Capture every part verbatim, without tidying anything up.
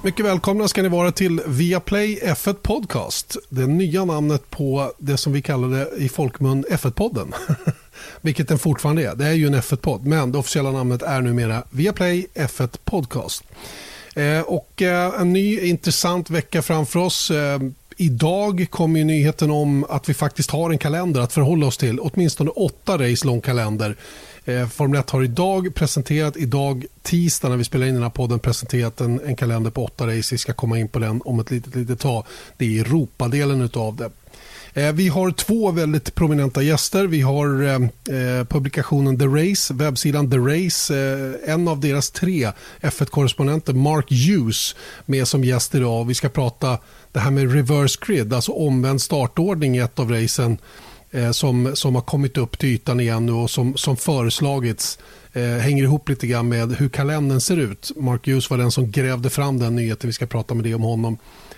Mycket välkomna ska ni vara till Viaplay F ett Podcast. Det nya namnet på det som vi kallar det i folkmun F ett-podden. Vilket den fortfarande är. Det är ju en F ett-podd, men det officiella namnet är numera Viaplay F ett Podcast. Eh, och eh, en ny intressant vecka framför oss. Eh, idag kommer ju nyheten om att vi faktiskt har en kalender att förhålla oss till. Åtminstone åtta race lång kalender. Eh, Formel ett har idag presenterat, idag tisdag när vi spelar in den här podden, presenterat en, en kalender på åtta race. Vi ska komma in på den om ett litet, litet tag. Det är Europadelen utav det. Eh, vi har två väldigt prominenta gäster. Vi har eh, publikationen The Race, webbsidan The Race. Eh, en av deras tre F ett-korrespondenter, Mark Hughes, med som gäst idag. Vi ska prata det här med reverse grid, alltså omvänd startordning i ett av racen. Som, som har kommit upp till ytan igen och som, som föreslagits eh, hänger ihop lite grann med hur kalendern ser ut. Mark Hughes var den som grävde fram den nyheten. Vi ska prata med det om honom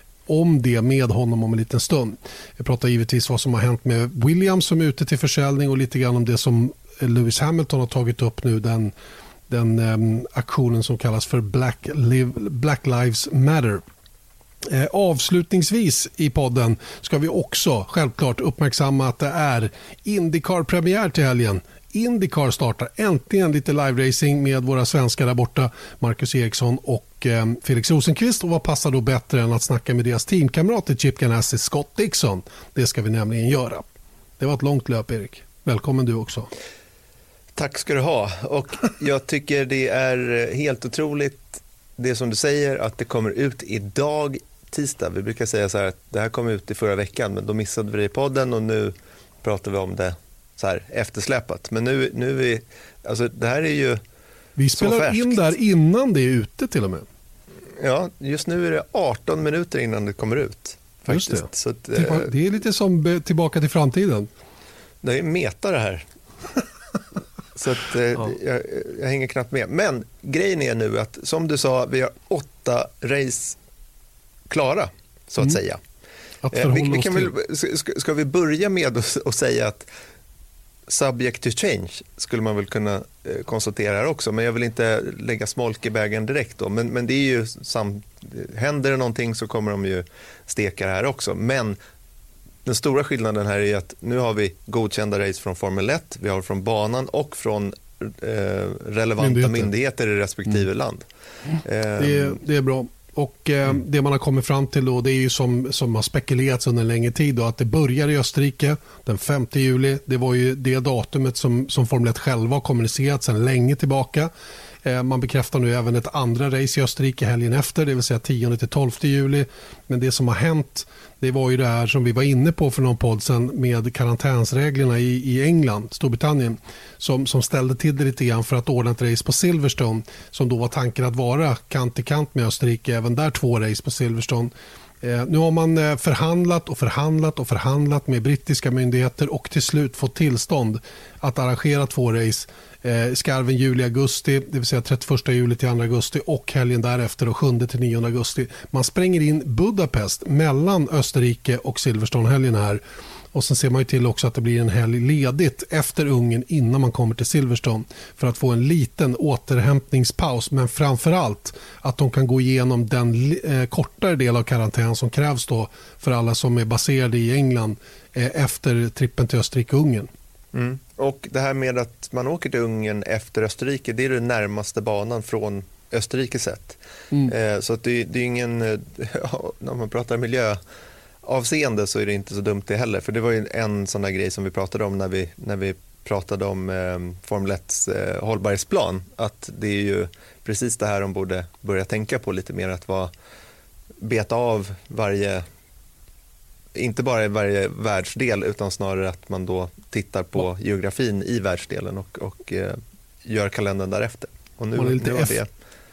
om det med honom om en liten stund. Vi pratar givetvis vad som har hänt med Williams som är ute till försäljning och lite grann om det som Lewis Hamilton har tagit upp nu, den, den eh, aktionen som kallas för Black, Live, Black Lives Matter. Eh, avslutningsvis i podden ska vi också självklart uppmärksamma att det är IndyCar-premiär till helgen. IndyCar startar äntligen lite live-racing med våra svenskar där borta, Marcus Eriksson och eh, Felix Rosenqvist. Och vad passar då bättre än att snacka med deras teamkamrater Chip Ganassi, Scott Dixon. Det ska vi nämligen göra. Det var ett långt löp, Erik. Välkommen du också. Tack ska du ha. Och jag tycker det är helt otroligt det som du säger, att det kommer ut idag tisdag. Vi brukar säga så här att det här kom ut i förra veckan, men då missade vi det i podden och nu pratar vi om det så här eftersläpat. Men nu, nu är vi, alltså det här är ju vi spelar in där innan det är ute till och med. Ja, just nu är det arton minuter innan det kommer ut. Faktiskt. Just det. Så att, det är lite som Tillbaka till framtiden. Det är meta det här. Så att, eh, ja. jag, jag hänger knappt med. Men grejen är nu att, som du sa, vi har åtta race klara, så att mm. säga. Att eh, vi, vi kan väl, ska, ska vi börja med att, att säga att subject to change skulle man väl kunna eh, konstatera här också. Men jag vill inte lägga smolk i bägaren direkt då. Men, men det är ju sam, händer det någonting så kommer de ju steka det här också. Men den stora skillnaden här är att nu har vi godkända race från Formel ett, vi har från banan och från eh, relevanta myndigheter. myndigheter i respektive mm. land. Eh, det, är, det är bra. Och eh, mm. det man har kommit fram till då, det är ju som, som har spekulerats under en längre tid då, att det börjar i Österrike den femte juli. Det var ju det datumet som, som Formel ett själva har kommunicerat sedan länge tillbaka. Man bekräftar nu även ett andra race i Österrike helgen efter, det vill säga tionde till tolfte juli. Men det som har hänt, det var ju det här som vi var inne på för någon podd sedan med karantänsreglerna i, i England, Storbritannien, som, som ställde till det lite grann för att ordna ett race på Silverstone, som då var tanken att vara kant i kant med Österrike, även där två race på Silverstone. Eh, nu har man eh, förhandlat och förhandlat och förhandlat med brittiska myndigheter och till slut fått tillstånd att arrangera två race eh, skarven juli-augusti, det vill säga trettioförsta juli till andra augusti och helgen därefter och sjunde till nionde augusti. Man spränger in Budapest mellan Österrike och Silverstone-helgen här. Och sen ser man ju till också att det blir en helg ledigt efter Ungern innan man kommer till Silverstone för att få en liten återhämtningspaus, men framförallt att de kan gå igenom den eh, kortare del av karantän som krävs då för alla som är baserade i England eh, efter trippen till Österrike och Ungern. Mm. Och det här med att man åker till Ungern efter Österrike, det är den närmaste banan från Österrike sett. Mm. Eh, så att det, det är ingen, ja, när man pratar miljö avseende så är det inte så dumt det heller. För det var ju en sån där grej som vi pratade om när vi, när vi pratade om eh, Formel ett eh, hållbarhetsplan. Att det är ju precis det här de borde börja tänka på lite mer. Att vara, beta av varje, inte bara i varje världsdel utan snarare att man då tittar på geografin i världsdelen och, och eh, gör kalendern därefter. Och nu, man är lite nu F- det...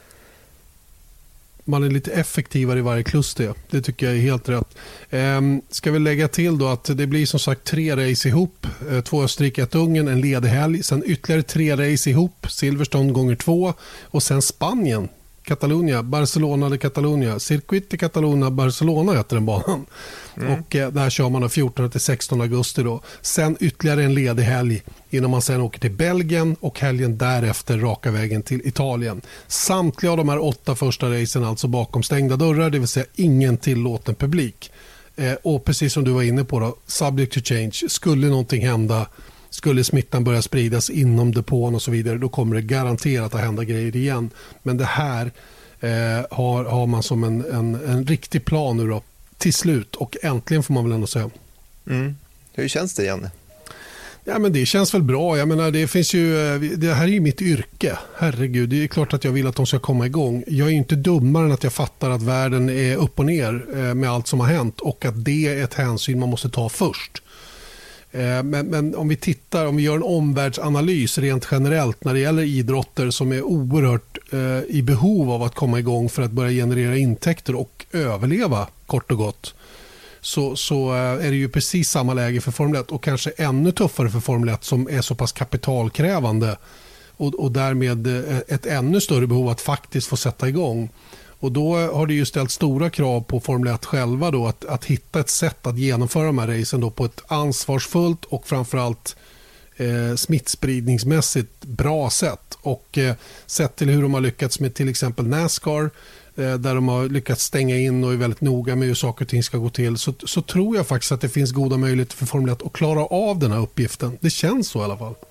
Man är lite effektivare i varje kluster. Det tycker jag är helt rätt. Ehm, ska vi lägga till då att det blir som sagt tre race ihop. Ehm, två Österrike, ett Ungern, en ledig helg. Sen ytterligare tre race ihop. Silverstone gånger två. Och sen Spanien Catalunya, Barcelona de Catalunya. Circuit de Catalunya, Barcelona heter den banan. Mm. Och eh, där kör man fjortonde till sextonde augusti då. Sen ytterligare en ledig helg innan man sen åker till Belgien och helgen därefter raka vägen till Italien. Samtliga av de här åtta första racen alltså bakom stängda dörrar, det vill säga ingen tillåten publik. Eh, och precis som du var inne på då, subject to change, skulle någonting hända, skulle smittan börja spridas inom depån och så vidare, då kommer det garanterat att hända grejer igen. Men det här eh, har, har man som en, en, en riktig plan nu då, till slut, och äntligen får man väl ändå säga. Mm. Hur känns det, Janne? Ja, men det känns väl bra. Jag menar, det finns ju, det här är ju mitt yrke. Herregud, det är klart att jag vill att de ska komma igång. Jag är ju inte dummare än att jag fattar att världen är upp och ner med allt som har hänt och att det är ett hänsyn man måste ta först. Men, men om vi tittar, om vi gör en omvärldsanalys rent generellt när det gäller idrotter som är oerhört eh, i behov av att komma igång för att börja generera intäkter och överleva kort och gott, så, så är det ju precis samma läge för Formel ett och kanske ännu tuffare för Formel ett som är så pass kapitalkrävande och, och därmed ett ännu större behov att faktiskt få sätta igång. Och då har det ju ställt stora krav på Formel ett själva då att, att hitta ett sätt att genomföra de här racen då på ett ansvarsfullt och framförallt eh, smittspridningsmässigt bra sätt. Och eh, sett till hur de har lyckats med till exempel NASCAR eh, där de har lyckats stänga in och är väldigt noga med hur saker och ting ska gå till, så, så tror jag faktiskt att det finns goda möjligheter för Formel ett att klara av den här uppgiften. Det känns så i alla fall.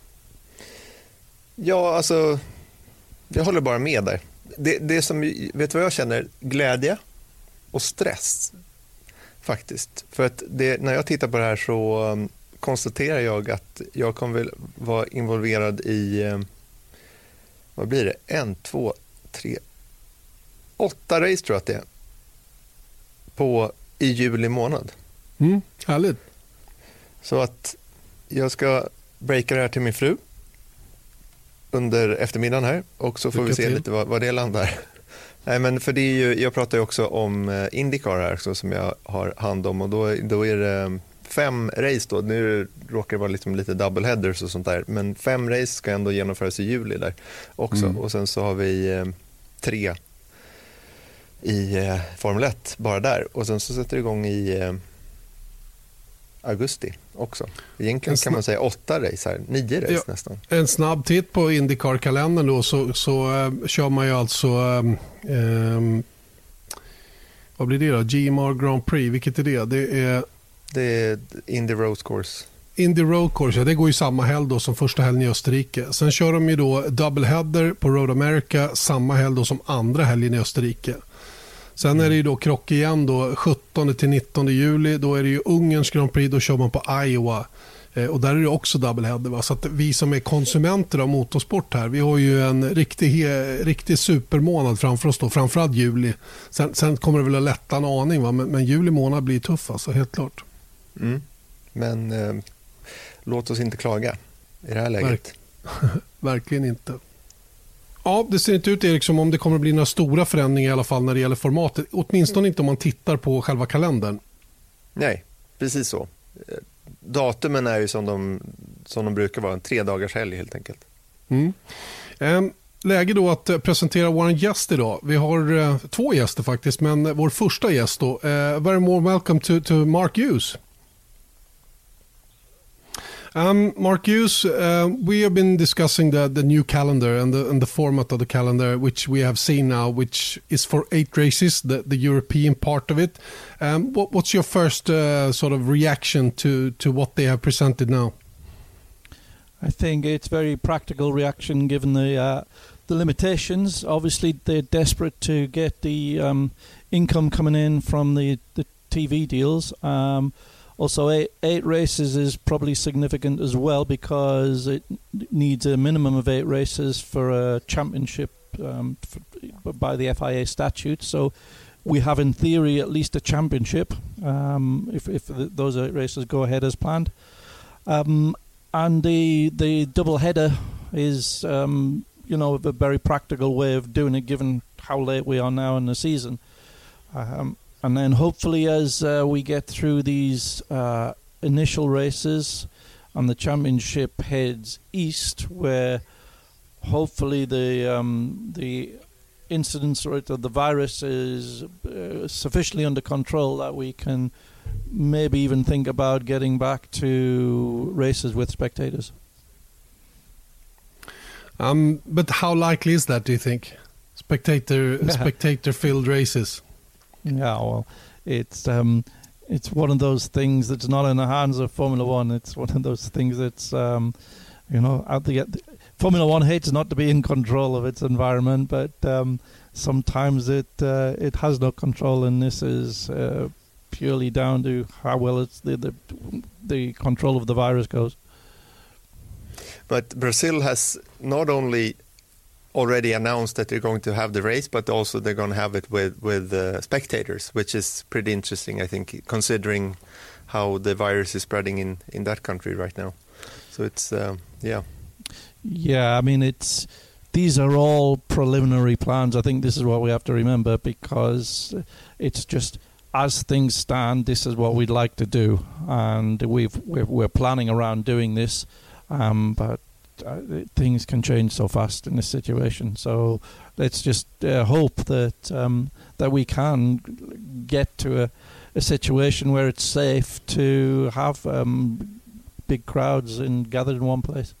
Ja, alltså jag håller bara med där. Det, det som, vet du vad jag känner? Glädje och stress faktiskt. För att det, när jag tittar på det här så um, konstaterar jag att jag kommer väl vara involverad i um, vad blir det? En, två, tre, åtta race tror jag att det är på, i juli månad. Mm, härligt. Så att jag ska breaka det här till min fru under eftermiddagen här och så får Lycka vi se till. lite vad, vad det landar. Nej, men för det är ju, jag pratar ju också om IndyCar här så, som jag har hand om och då, då är det fem race då. Nu råkar det vara liksom lite double headers och sånt där, men fem race ska ändå genomföras i juli där också. Mm. Och sen så har vi eh, tre i eh, Formel ett bara där och sen så sätter det igång i eh, augusti också. Egentligen kan man säga åtta race här, nio race ja, nästan. En snabb titt på IndyCar-kalendern då så, så uh, kör man ju alltså um, um, vad blir det då? G M R Grand Prix, vilket är det? Det är, det är Indy Road Course. Indy Road Course, ja, det går ju samma helg då som första helgen i Österrike. Sen kör de ju då doubleheader på Road America samma helg då som andra helgen i Österrike. Sen är det ju då krock igen då sjuttonde till nittonde juli, då är det ju Ungerns Grand Prix, då kör man på Iowa eh, och där är det också doubleheader, va? Så att vi som är konsumenter av motorsport här, vi har ju en riktig, he, riktig supermånad framför oss då, framförallt juli. Sen, sen kommer det väl att lätta en aning, va? Men, men juli månad blir tuff alltså, helt klart. Mm. Men eh, låt oss inte klaga i det här läget. Verk- Verkligen inte. Ja, det ser inte ut, Erik, som om det kommer att bli några stora förändringar i alla fall när det gäller formatet. Åtminstone inte om man tittar på själva kalendern. Nej, precis så. Datumen är ju som de, som de brukar vara, en tre dagars helg helt enkelt. Mm. Ehm, läge då att presentera vår gäst idag. Vi har eh, två gäster faktiskt, men vår första gäst då. Eh, very more welcome to, to Mark Hughes. Um, Mark Hughes, uh, we have been discussing the, the new calendar and the, and the format of the calendar, which we have seen now, which is for eight races, the, the European part of it. Um, what, what's your first uh, sort of reaction to, to what they have presented now? I think it's very practical reaction given the uh, the limitations. Obviously, they're desperate to get the um, income coming in from the, the T V deals. Um, Also, eight, eight races is probably significant as well because it needs a minimum of eight races for a championship um, for, by the F I A statute. So we have, in theory, at least a championship um, if, if the, those eight races go ahead as planned. Um, and the the double header is, um, you know, a very practical way of doing it given how late we are now in the season. Um, And then hopefully as uh, we get through these uh, initial races and the championship heads east, where hopefully the um, the incidence rate of the virus is uh, sufficiently under control that we can maybe even think about getting back to races with spectators. Um, but how likely is that, do you think? Spectator, spectator-filled races. Yeah, well, it's um, it's one of those things that's not in the hands of Formula One. It's one of those things that's um, you know, out the, the Formula One hates not to be in control of its environment, but um, sometimes it uh, it has no control, and this is uh, purely down to how well it's the, the the control of the virus goes. But Brazil has not only already announced that they're going to have the race, but also they're going to have it with with uh, spectators, which is pretty interesting, I think, considering how the virus is spreading in, in that country right now. So it's uh, yeah, yeah. I mean, it's these are all preliminary plans. I think this is what we have to remember, because it's just as things stand, this is what we'd like to do, and we've we're, we're planning around doing this. Um, but uh, things can change so fast in this situation. So let's just uh, hope that um, that we can get to a, a situation where it's safe to have um, big crowds and gathered in one place.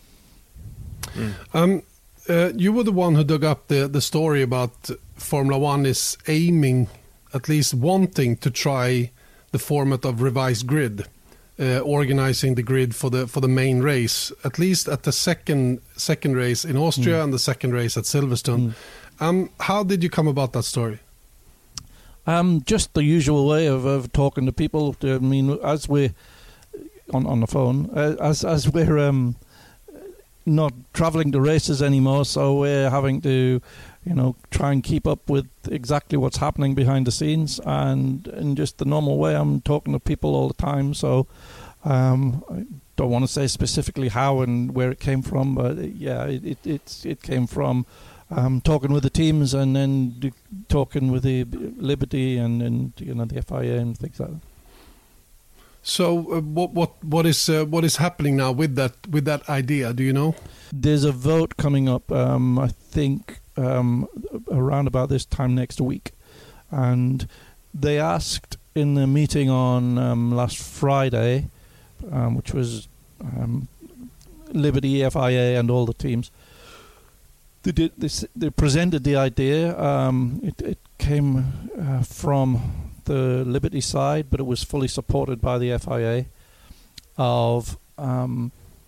Mm. Um, uh, you were the one who dug up the, the story about Formula One is aiming, at least wanting to try the format of revised grid. Uh, organizing the grid for the for the main race, at least at the second second race in Austria mm. and the second race at Silverstone. Mm. Um, how did you come about that story? Um, just the usual way of, of talking to people. I mean, as we're on on the phone, uh, as as we're um, not traveling to races anymore, so we're having to, you know, try and keep up with exactly what's happening behind the scenes, and in just the normal way, I'm talking to people all the time. So um, I don't want to say specifically how and where it came from, but yeah, it it it's, it came from um, talking with the teams, and then d- talking with the Liberty and, and you know the F I A and things like that. So uh, what what what is uh, what is happening now with that with that idea? Do you know? There's a vote coming up. Um, I think. Um, around about this time next week, and they asked in the meeting on um, last Friday, um, which was um, Liberty, F I A, and all the teams. They did this. They presented the idea. Um, it, it came uh, from the Liberty side, but it was fully supported by the F I A of. Um,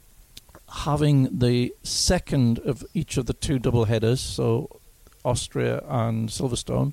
having the second of each of the two double headers, so Austria and Silverstone,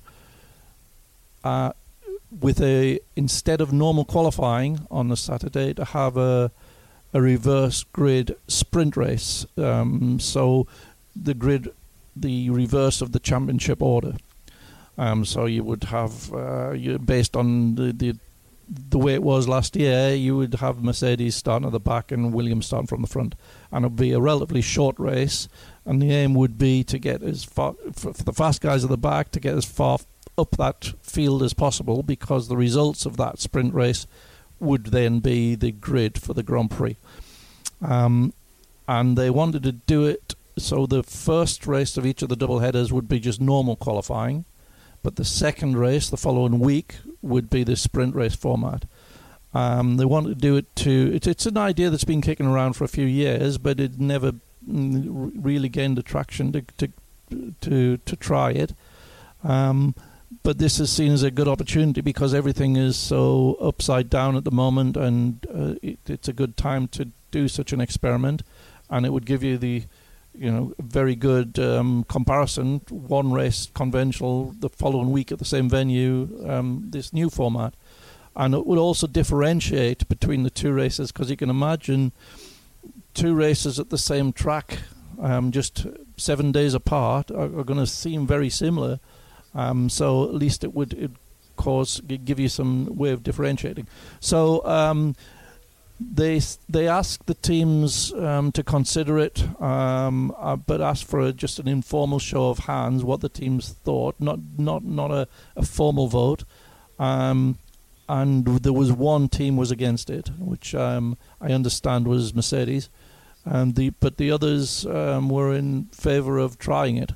uh, with a instead of normal qualifying on the Saturday, to have a a reverse grid sprint race. Um, so the grid, the reverse of the championship order. Um, so you would have uh, you based on the, the the way it was last year, you would have Mercedes starting at the back and Williams starting from the front, and it would be a relatively short race, and the aim would be to get as far for, for the fast guys at the back to get as far up that field as possible, because the results of that sprint race would then be the grid for the Grand Prix. Um, and they wanted to do it so the first race of each of the double headers would be just normal qualifying, but the second race the following week would be the sprint race format. Um, they wanted to do it to... It, it's an idea that's been kicking around for a few years, but it never really gained the traction to to to, to try it. Um, but this is seen as a good opportunity because everything is so upside down at the moment, and uh, it, it's a good time to do such an experiment, and it would give you the... you know, very good um, comparison, one race conventional, the following week at the same venue, um, this new format. And it would also differentiate between the two races, because you can imagine two races at the same track, um, just seven days apart, are, are going to seem very similar. Um, so at least it would it cause give you some way of differentiating. So um, They they asked the teams um, to consider it, um, uh, but asked for a, just an informal show of hands what the teams thought, not not not a, a formal vote. Um, and there was one team was against it, which um, I understand was Mercedes, and the but the others um, were in favour of trying it.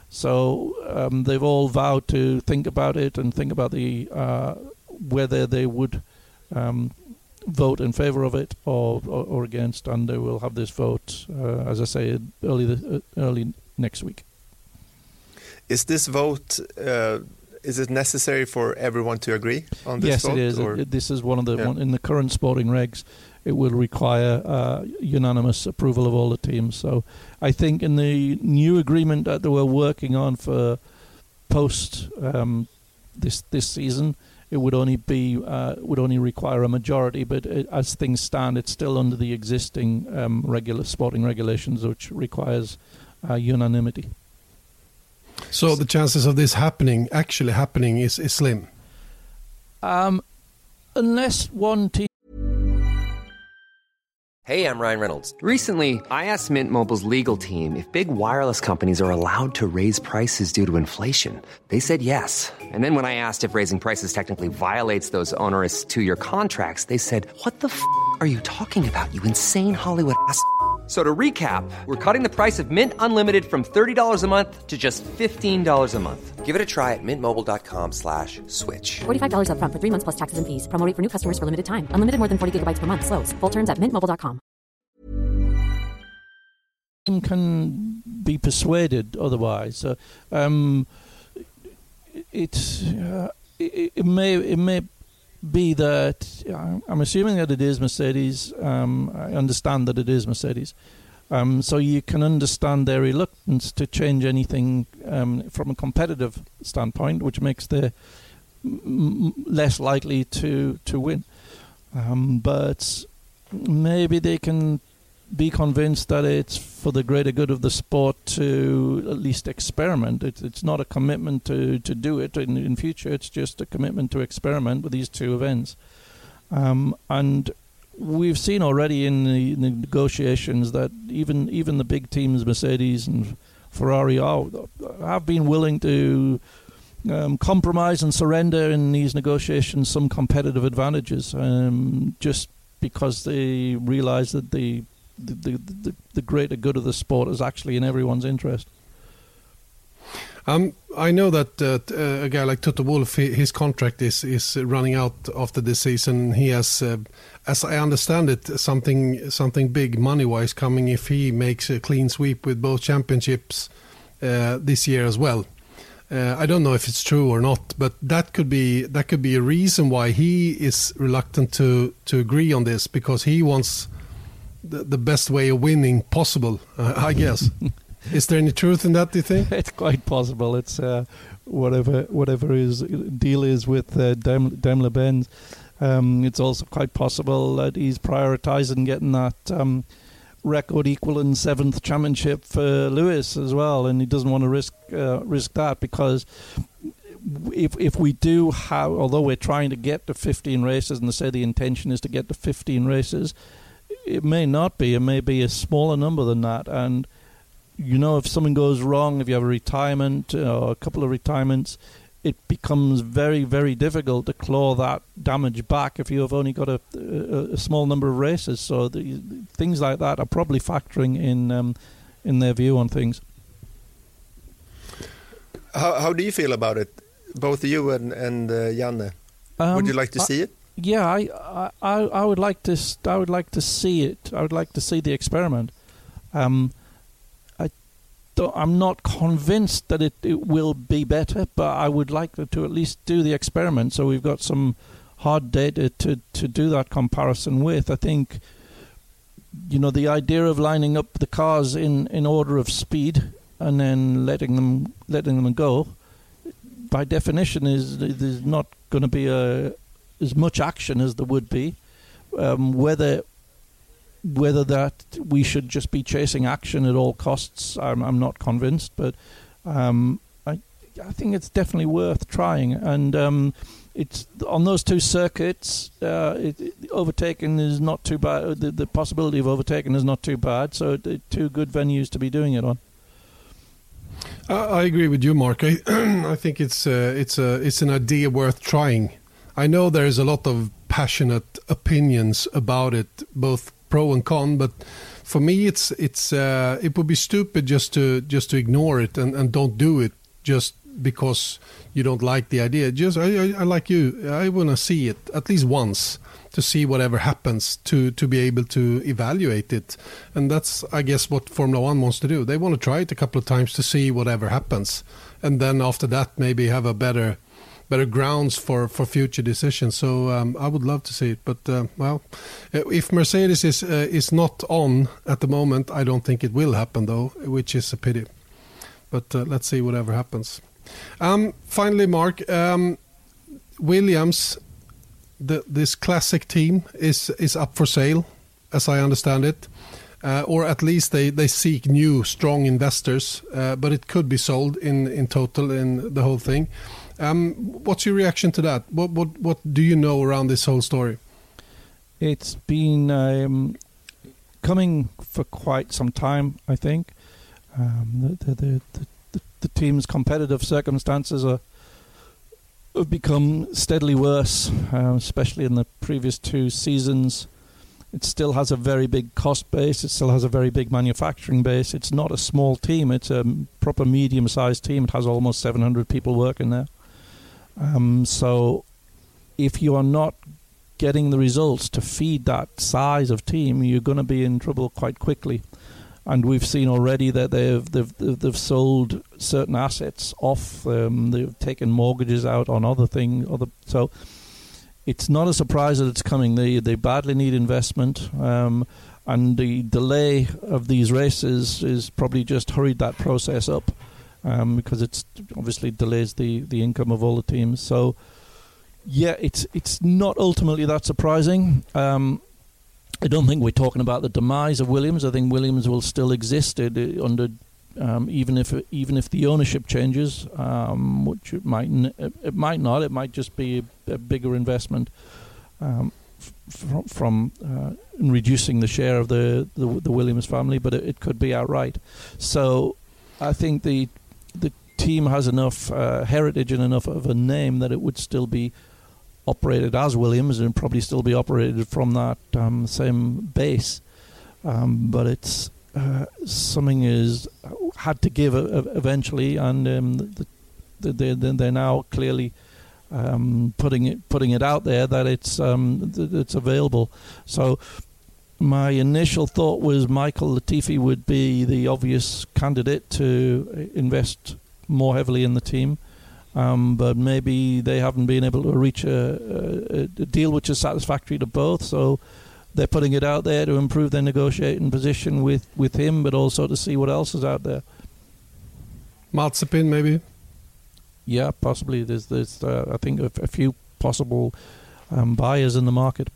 So um, they've all vowed to think about it and think about the uh, whether they would um, vote in favour of it or, or or against, and they will have this vote, uh, as I say, early the, uh, early next week. Is this vote? Uh, is it necessary for everyone to agree on this yes, vote? Yes, it is. Or? It, this is one of the yeah. one, in the current sporting regs. It will require uh, unanimous approval of all the teams. So I think in the new agreement that they were working on for post um, this this season, it would only be uh, would only require a majority. But it, as things stand, it's still under the existing um, regular sporting regulations, which requires uh, unanimity. So the chances of this happening, actually happening, is, is slim. Um, unless one team. Hey, I'm Ryan Reynolds. Recently, I asked Mint Mobile's legal team if big wireless companies are allowed to raise prices due to inflation. They said yes. And then when I asked if raising prices technically violates those onerous two-year contracts, they said, "What the f*** are you talking about, you insane Hollywood ass?" So to recap, we're cutting the price of Mint Unlimited from thirty dollars a month to just fifteen dollars a month. Give it a try at mintmobile.com slash switch. forty-five dollars up front for three months plus taxes and fees. Promo rate for new customers for limited time. Unlimited more than forty gigabytes per month. Slows full terms at mint mobile dot com. Can be persuaded otherwise. Uh, um, it, uh, it it may it may be that uh, I'm assuming that it is Mercedes. Um, I understand that it is Mercedes. Um, so you can understand their reluctance to change anything um, from a competitive standpoint, which makes them m- less likely to to win. Um, but maybe they can be convinced that it's for the greater good of the sport to at least experiment. It, it's not a commitment to, to do it in, in future. It's just a commitment to experiment with these two events. Um, and we've seen already in the, in the negotiations that even even the big teams, Mercedes and Ferrari, are, have been willing to um, compromise and surrender in these negotiations some competitive advantages, um, just because they realize that the The, the, the, the greater good of the sport is actually in everyone's interest. Um, I know that uh, uh, a guy like Toto Wolff, his contract is, is running out after this season. He has, uh, as I understand it, something something big money-wise coming if he makes a clean sweep with both championships uh, this year as well. Uh, I don't know if it's true or not, but that could be that could be a reason why he is reluctant to to agree on this, because he wants The, the best way of winning possible, uh, I guess. Is there any truth in that, do you think? It's quite possible. It's uh, whatever whatever his deal is with uh, Daim- Daimler-Benz. Um, it's also quite possible that he's prioritising getting that um, record equaling seventh championship for Lewis as well, and he doesn't want to risk uh, risk that, because if if we do have, although we're trying to get to fifteen races, and they say the intention is to get to fifteen races, it may not be. It may be a smaller number than that. And, you know, if something goes wrong, if you have a retirement or a couple of retirements, it becomes very, very difficult to claw that damage back if you have only got a, a, a small number of races. So the, things like that are probably factoring in um, in their view on things. How, how do you feel about it, both you and, and uh, Janne? Um, Would you like to I, see it? Yeah, I, I, I would like to. I would like to see it. I would like to see the experiment. Um, I, don't, I'm not convinced that it, it will be better, but I would like to, to at least do the experiment, so we've got some hard data to, to do that comparison with. I think, you know, the idea of lining up the cars in, in order of speed and then letting them letting them go, by definition, is there's not going to be a as much action as there would be. Um, whether whether that we should just be chasing action at all costs, I'm, I'm not convinced. But um, I I think it's definitely worth trying. And um, it's on those two circuits, uh, it, it, overtaking is not too bad. The, the possibility of overtaking is not too bad. So it, two good venues to be doing it on. I, I agree with you, Mark. I, I think it's uh, it's a it's an idea worth trying. I know there's a lot of passionate opinions about it, both pro and con, but for me, it's it's uh, it would be stupid just to just to ignore it and, and don't do it just because you don't like the idea. Just I, I, I like you. I want to see it at least once to see whatever happens, to to be able to evaluate it. And that's, I guess, what Formula One wants to do. They want to try it a couple of times to see whatever happens, and then after that maybe have a better better grounds for, for future decisions. So um, I would love to see it. But uh, well, if Mercedes is uh, is not on at the moment, I don't think it will happen though, which is a pity. But uh, let's see whatever happens. Um, finally, Mark, um, Williams, the, this classic team is is up for sale, as I understand it, uh, or at least they, they seek new strong investors. Uh, but it could be sold in, in total in the whole thing. Um, what's your reaction to that? What what what do you know around this whole story? It's been um, coming for quite some time, I think. Um, the, the, the, the, the team's competitive circumstances are, have become steadily worse, uh, especially in the previous two seasons. It still has a very big cost base. It still has a very big manufacturing base. It's not a small team. It's a proper medium-sized team. It has almost seven hundred people working there. Um, so if you are not getting the results to feed that size of team, you're going to be in trouble quite quickly. And we've seen already that they've they've they've sold certain assets off. Um, they've taken mortgages out on other things. Other so it's not a surprise that it's coming. They they badly need investment, um, and the delay of these races is probably just hurried that process up, um, because it's obviously delays the, the income of all the teams. So yeah, it's it's not ultimately that surprising. Um, I don't think we're talking about the demise of Williams. I think Williams will still exist uh, under, um, even if even if the ownership changes, um, which it might n- it might not. It might just be a, a bigger investment um, f- from, from uh, in reducing the share of the, the the Williams family, but it, it could be outright. So I think the the team has enough uh, heritage and enough of a name that it would still be operated as Williams and probably still be operated from that um, same base, um, but it's uh, something is had to give a, a eventually, and um, the, the, the, they're now clearly um, putting it putting it out there that it's um, th- it's available. So my initial thought was Michael Latifi would be the obvious candidate to invest more heavily in the team. Um, but maybe they haven't been able to reach a, a, a deal which is satisfactory to both, so they're putting it out there to improve their negotiating position with, with him, but also to see what else is out there. Mazepin, maybe? Yeah, possibly. There's, there's uh, I think, a, a few possible um, buyers in the market.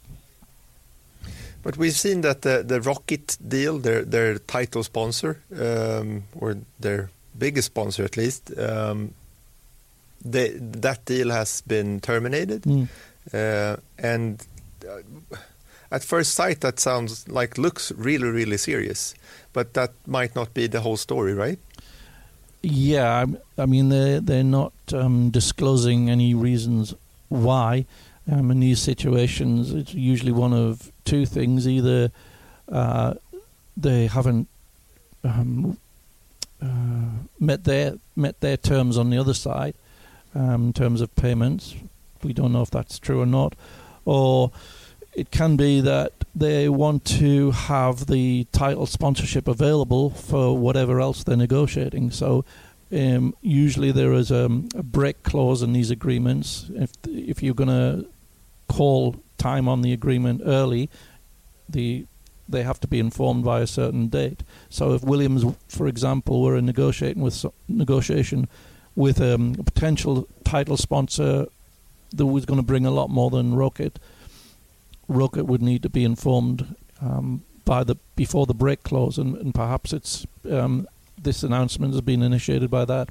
But we've seen that the, the Rocket deal, their their title sponsor, um, or their biggest sponsor at least, um, They, that deal has been terminated, mm. uh, and uh, at first sight that sounds like looks really really serious, but that might not be the whole story, right? Yeah, I, I mean they're they're not um, disclosing any reasons why. Um, in these situations, it's usually one of two things: either uh, they haven't um, uh, met their met their terms on the other side. Um, in terms of payments, we don't know if that's true or not, or it can be that they want to have the title sponsorship available for whatever else they're negotiating. So um, usually there is a, a break clause in these agreements. If if you're going to call time on the agreement early, the they have to be informed by a certain date. So if Williams, for example, were negotiating with so, negotiation. with um, a potential title sponsor that was going to bring a lot more than Rocket, Rocket would need to be informed um, by the before the break clause, and, and perhaps it's um, this announcement has been initiated by that.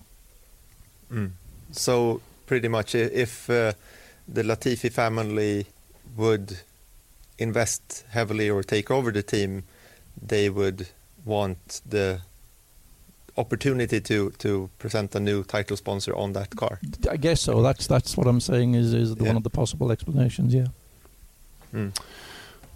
Mm. So pretty much, if uh, the Latifi family would invest heavily or take over the team, they would want the opportunity to to present a new title sponsor on that car. I guess so. That's that's what I'm saying is is the yeah. one of the possible explanations. Yeah. Mm.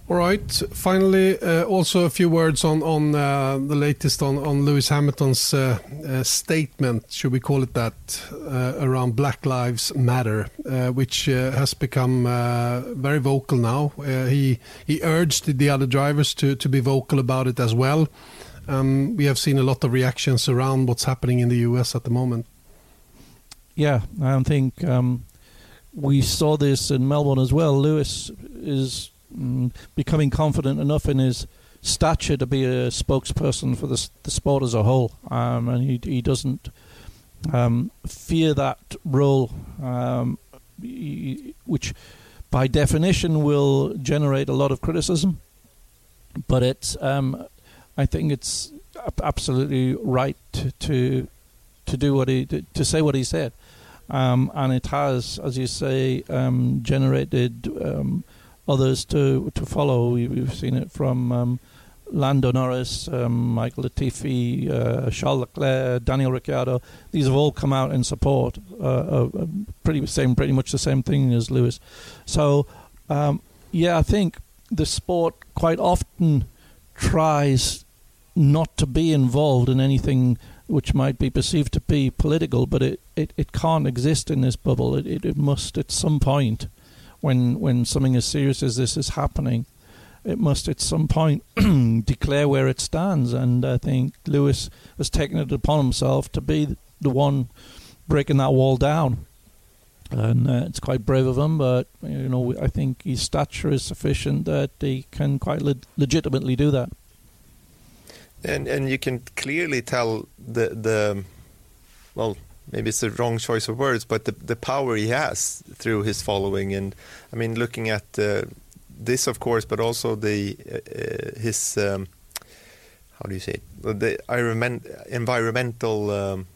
All right. Finally, uh, also a few words on on uh, the latest on on Lewis Hamilton's uh, uh, statement, should we call it that, uh, around Black Lives Matter, uh, which uh, has become uh, very vocal now. Uh, he he urged the other drivers to to be vocal about it as well. Um, we have seen a lot of reactions around what's happening in the U S at the moment. Yeah, I think um, we saw this in Melbourne as well. Lewis is mm, becoming confident enough in his stature to be a spokesperson for the, the sport as a whole, um, and he he doesn't um, fear that role, um, he, which by definition will generate a lot of criticism. But it's, um, I think it's absolutely right to to, to do what he to, to say what he said. Um, and it has, as you say, um, generated um, others to to follow. We, we've seen it from um, Lando Norris, um, Michael Latifi, uh, Charles Leclerc, Daniel Ricciardo. These have all come out in support, uh, uh, pretty same, pretty much the same thing as Lewis. So, um, yeah, I think the sport quite often tries not to be involved in anything which might be perceived to be political, but it, it, it can't exist in this bubble. It, it it must at some point, when when something as serious as this is happening, it must at some point declare where it stands. And I think Lewis has taken it upon himself to be the one breaking that wall down. And uh, it's quite brave of him, but you know I think his stature is sufficient that he can quite le- legitimately do that. And and you can clearly tell the the well, maybe it's the wrong choice of words, but the the power he has through his following. And I mean, looking at uh, this, of course, but also the uh, his um, how do you say it? The environment, environmental um,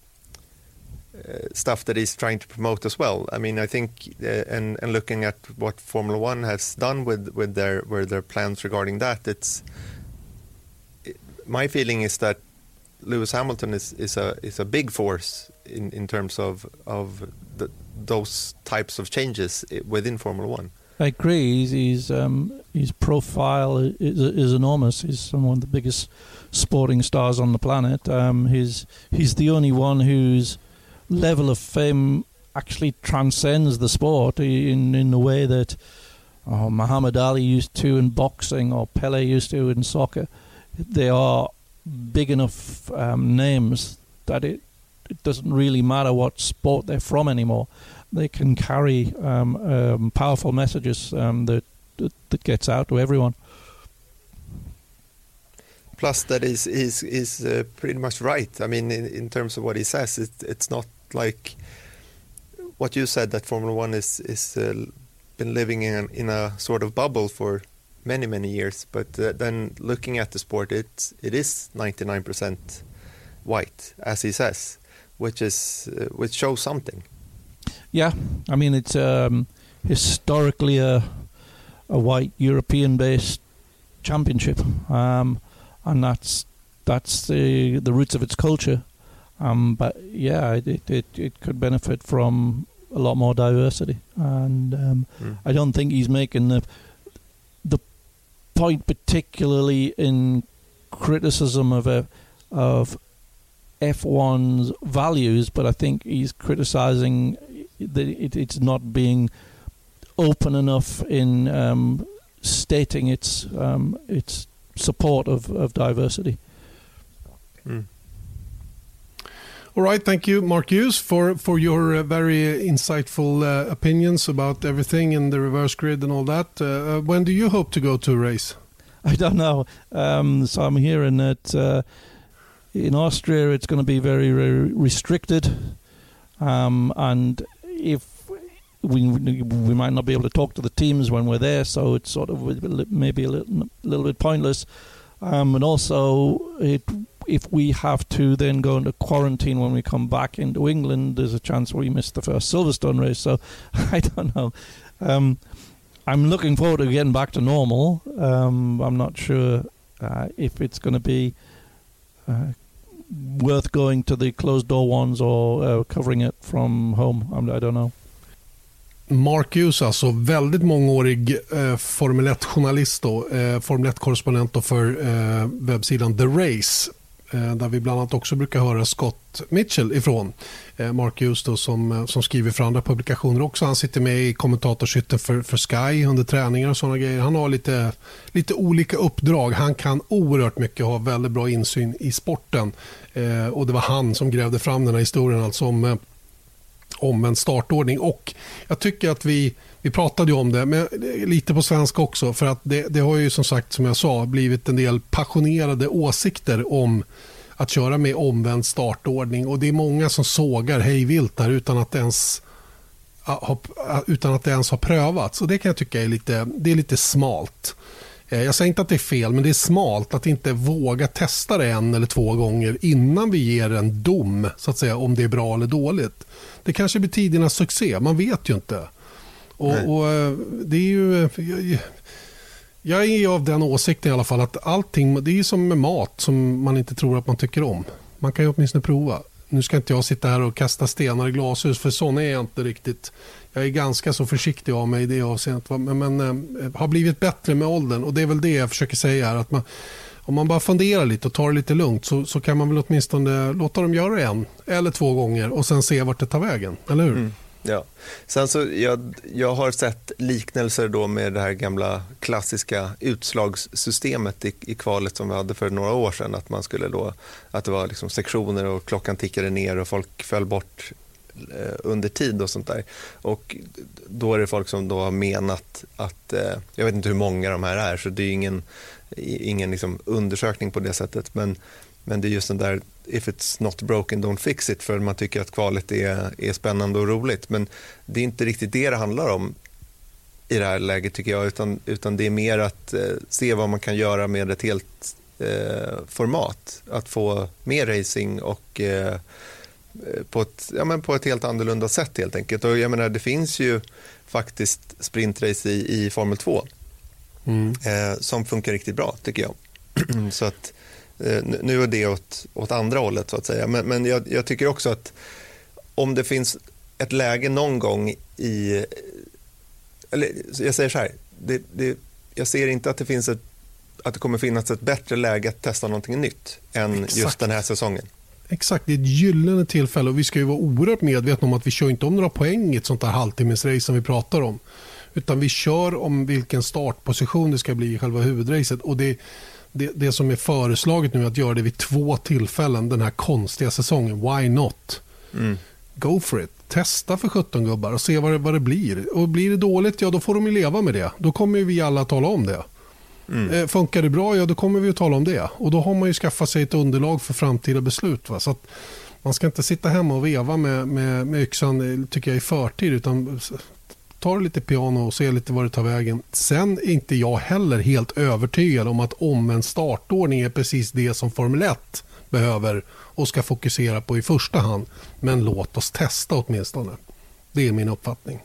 uh, stuff that he's trying to promote as well. I mean, I think uh, and and looking at what Formula One has done with with their with their plans regarding that, it's. My feeling is that Lewis Hamilton is, is a is a big force in, in terms of of the, those types of changes within Formula One. I agree. He's, he's um, his profile is, is enormous. He's one of the biggest sporting stars on the planet. Um, he's he's the only one whose level of fame actually transcends the sport in in the way that oh, Muhammad Ali used to in boxing or Pele used to in soccer. They are big enough um, names that it, it doesn't really matter what sport they're from anymore. They can carry um, um, powerful messages um, that, that that gets out to everyone. Plus, that is is is uh, pretty much right. I mean, in, in terms of what he says, it, it's not like what you said that Formula One is is uh, been living in in a sort of bubble for many many years, but uh, then looking at the sport, it it is ninety-nine percent white, as he says, which is uh, which shows something. Yeah, I mean it's um, historically a a white European-based championship, um, and that's that's the the roots of its culture. Um, but yeah, it, it it could benefit from a lot more diversity, and um, mm. I don't think he's making the the point particularly in criticism of a of F one's values, but I think he's criticising that it, it's not being open enough in um, stating its um, its support of, of diversity. Mm. All right, thank you, Mark Hughes, for, for your uh, very insightful uh, opinions about everything in the reverse grid and all that. Uh, when do you hope to go to a race? I don't know. Um, so I'm hearing that uh, in Austria it's going to be very, very restricted. Um, and if we we might not be able to talk to the teams when we're there, so it's sort of maybe a little, little bit pointless. Um, and also, it, if we have to then go into quarantine when we come back into England, there's a chance we miss the first Silverstone race. So I don't know. Um, I'm looking forward to getting back to normal. Um, I'm not sure uh, if it's going to be uh, worth going to the closed door ones or uh, covering it from home. I'm, I don't know. Mark Hughes, alltså väldigt mångårig eh, Formel ett-journalist då, eh, Formel ett-korrespondent för eh, webbsidan The Race, eh, där vi bland annat också brukar höra Scott Mitchell ifrån. Eh, Mark Hughes då, som, som skriver för andra publikationer också. Han sitter med i kommentatorshytten för, för Sky under träningar och sådana grejer. Han har lite, lite olika uppdrag. Han kan oerhört mycket, ha väldigt bra insyn i sporten. Eh, och det var han som grävde fram den här historien, alltså om eh, om en startordning, och jag tycker att vi, vi pratade ju om det, men lite på svenska också, för att det, det har ju som sagt, som jag sa, blivit en del passionerade åsikter om att köra med omvänd startordning, och det är många som sågar hej vilt där utan att ens ha, utan att det ens har prövats, och det kan jag tycka är lite, det är lite smalt. Jag säger inte att det är fel, men det är smalt att inte våga testa det en eller två gånger innan vi ger en dom, så att säga, om det är bra eller dåligt. Det kanske blir tidernas succé, man vet ju inte. Och, och det är ju... Jag, jag är av den åsikten i alla fall att allting, det är som med mat som man inte tror att man tycker om. Man kan ju åtminstone prova. Nu ska inte jag sitta här och kasta stenar i glashus, för sån är jag inte riktigt. Jag är ganska så försiktig av mig i det avseendet, men, men äh, har blivit bättre med åldern, och det är väl det jag försöker säga här, att man, om man bara funderar lite och tar det lite lugnt, så, så kan man väl åtminstone låta dem göra det en eller två gånger och sen se vart det tar vägen, eller hur? Mm. Ja, sen så jag, jag har sett liknelser då med det här gamla klassiska utslagssystemet i, i kvalet som vi hade för några år sedan, att man skulle då, att det var liksom sektioner och klockan tickade ner och folk föll bort eh, under tid och sånt där, och då är det folk som då har menat att, eh, jag vet inte hur många de här är, så det är ingen, ingen liksom undersökning på det sättet, men Men det är just den där if it's not broken don't fix it, för man tycker att kvalet är, är spännande och roligt. Men det är inte riktigt det det handlar om i det här läget, tycker jag, utan, utan det är mer att eh, se vad man kan göra med ett helt eh, format. Att få mer racing och eh, på, ett, ja, men på ett helt annorlunda sätt helt enkelt. Och jag menar, det finns ju faktiskt sprintrace i, i Formel två mm. eh, som funkar riktigt bra, tycker jag. Så att nu är det åt, åt andra hållet, så att säga. Men, men jag, jag tycker också att om det finns ett läge någon gång i... Eller jag säger så här. Det, det, jag ser inte att det finns ett, att det kommer finnas ett bättre läge att testa någonting nytt än Exakt. Just den här säsongen. Exakt, det är ett gyllene tillfälle, och vi ska ju vara oerhört medvetna om att vi kör inte om några poäng i ett sånt här halvtimmesrace som vi pratar om. Utan vi kör om vilken startposition det ska bli i själva huvudracet, och det Det, det som är föreslaget nu är att göra det vid två tillfällen den här konstiga säsongen. Why not? Mm. Go for it. Testa för sjutton gubbar och se vad det, vad det blir. Och blir det dåligt, ja då får de ju leva med det. Då kommer vi alla tala om det. Mm. Eh, funkar det bra, ja då kommer vi att tala om det. Och då har man ju skaffat sig ett underlag för framtida beslut. Va? Så att man ska inte sitta hemma och veva med, med, med yxan, tycker jag, i förtid, utan ta lite piano och se lite vad det tar vägen. Sen är inte jag heller helt övertygad om att om en startordning är precis det som Formel ett behöver och ska fokusera på i första hand. Men låt oss testa åtminstone. Det är min uppfattning.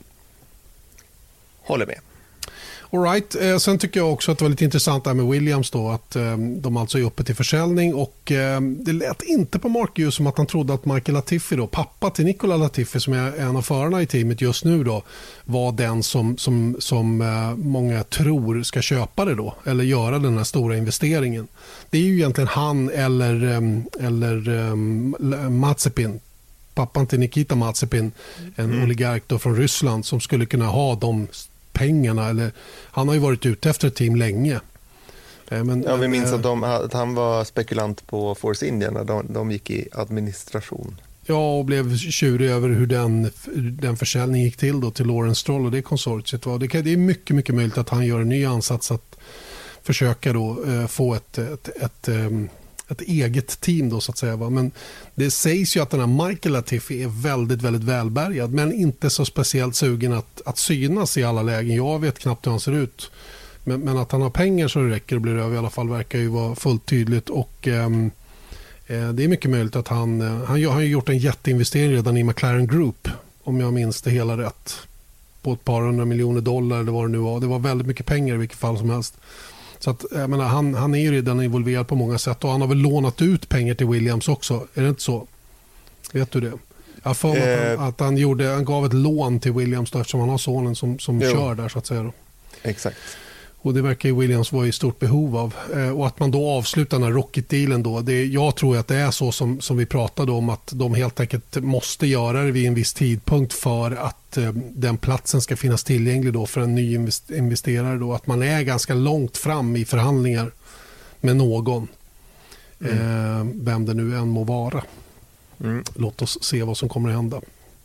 Håller med. All right. Eh, sen tycker jag också att det var lite intressant där med Williams då, att eh, de alltså är uppe till försäljning, och eh, det lät inte på Mark Hughes som att han trodde att Michael Latifi då, pappa till Nicola Latifi som är en av förarna i teamet just nu då, var den som, som, som eh, många tror ska köpa det då, eller göra den här stora investeringen. Det är ju egentligen han eller, eh, eller eh, Mazepin, pappan till Nikita Mazepin, en mm. oligark då från Ryssland, som skulle kunna ha de pengarna, eller han har ju varit ute efter ett team länge. Men, ja, vi minns att, de, att han var spekulant på Force India när de, de gick i administration. Ja, och blev tjurig över hur den, den försäljningen gick till då till Lawrence Stroll och det konsortiet var. Det, kan, det är mycket, mycket möjligt att han gör en ny ansats att försöka då eh, få ett, ett, ett, ett, ett eget team då, så att säga. Va? Men det sägs ju att den här Michael Latifi är väldigt, väldigt välbärgad, men inte så speciellt sugen att, att synas i alla lägen. Jag vet knappt hur han ser ut. Men, men att han har pengar så det räcker och blir över i alla fall verkar ju vara fullt tydligt, och ehm, eh, det är mycket möjligt att han, eh, han har gjort en jätteinvestering redan i McLaren Group, om jag minns det hela rätt, på ett par hundra miljoner dollar eller vad det nu var. Det var väldigt mycket pengar i vilket fall som helst. Så att, jag menar, han, han är ju redan involverad på många sätt, och han har väl lånat ut pengar till Williams också, är det inte så? Vet du det? Jag får mig att, han, att han, gjorde, han gav ett lån till Williams då, eftersom han har sonen som, som kör där så att säga. Då. Exakt. Och det verkar ju Williams vara i stort behov av. Eh, och att man då avslutar den här Rocket-dealen då. Det, jag tror att det är så som, som vi pratade om, att de helt enkelt måste göra det vid en viss tidpunkt för att eh, den platsen ska finnas tillgänglig då för en ny invest- investerare. Då. Att man är ganska långt fram i förhandlingar med någon. Mm. Eh, vem det nu än må vara. Mm. Låt oss se vad som kommer att hända.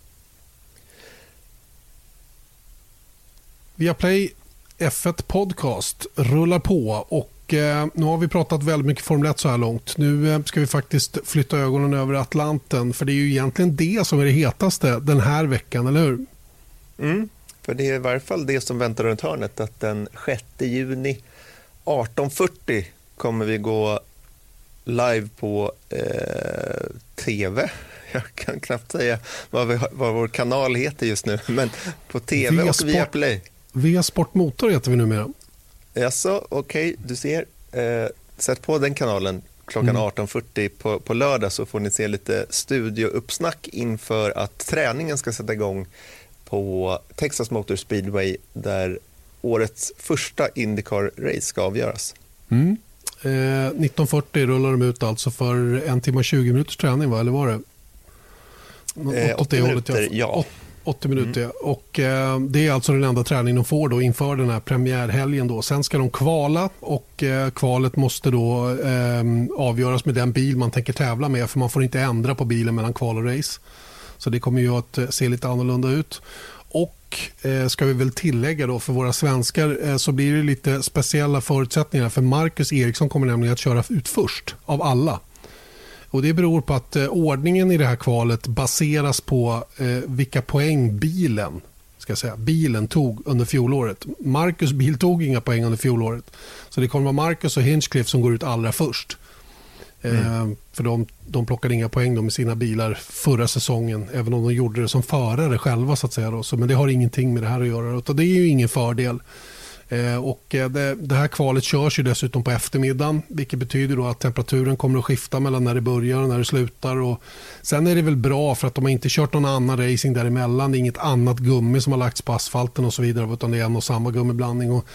Viaplay F ett Podcast rullar på och eh, nu har vi pratat väldigt mycket Formel ett så här långt. Nu eh, ska vi faktiskt flytta ögonen över Atlanten, för det är ju egentligen det som är det hetaste den här veckan, eller hur? Mm, för det är i varje fall det som väntar runt hörnet, att den sjätte juni arton fyrtio kommer vi gå live på eh, tv. Jag kan knappt säga vad, vi, vad vår kanal heter just nu, men på tv via och Sport, via Play. Via Sportmotor heter vi numera. Jaså, okej, okay, du ser. Eh, sätt på den kanalen klockan mm. arton fyrtio på, på lördag, så får ni se lite studiouppsnack inför att träningen ska sätta igång på Texas Motor Speedway, där årets första IndyCar-race ska avgöras. Mm. Eh, nitton fyrtio rullar de ut alltså för en timme och tjugo minuters träning, va? Eller var det? Eh, åttio minuter, ja. åttio minuter, mm. och eh, det är alltså den enda träning de får då inför den här premiärhelgen då. Sen ska de kvala, och eh, kvalet måste då eh, avgöras med den bil man tänker tävla med, för man får inte ändra på bilen mellan kval och race. Så det kommer ju att se lite annorlunda ut. Och eh, ska vi väl tillägga då för våra svenskar, eh, så blir det lite speciella förutsättningar, för Marcus Eriksson kommer nämligen att köra ut först av alla. Och det beror på att eh, ordningen i det här kvalet baseras på eh, vilka poäng bilen, ska jag säga, bilen tog under fjolåret. Marcus bil tog inga poäng under fjolåret. Så det kommer vara Marcus och Hinchcliffe som går ut allra först. Mm. Eh, för de, de plockade inga poäng då med sina bilar förra säsongen, även om de gjorde det som förare själva så att säga. Då. Så, men det har ingenting med det här att göra. Och det är ju ingen fördel. Eh, och det, det här kvalet körs ju dessutom på eftermiddagen, vilket betyder då att temperaturen kommer att skifta mellan när det börjar och när det slutar. Och sen är det väl bra för att de har inte kört någon annan racing däremellan. Det är inget annat gummi som har lagts på asfalten och så vidare, utan det är en och samma gummiblandning. Och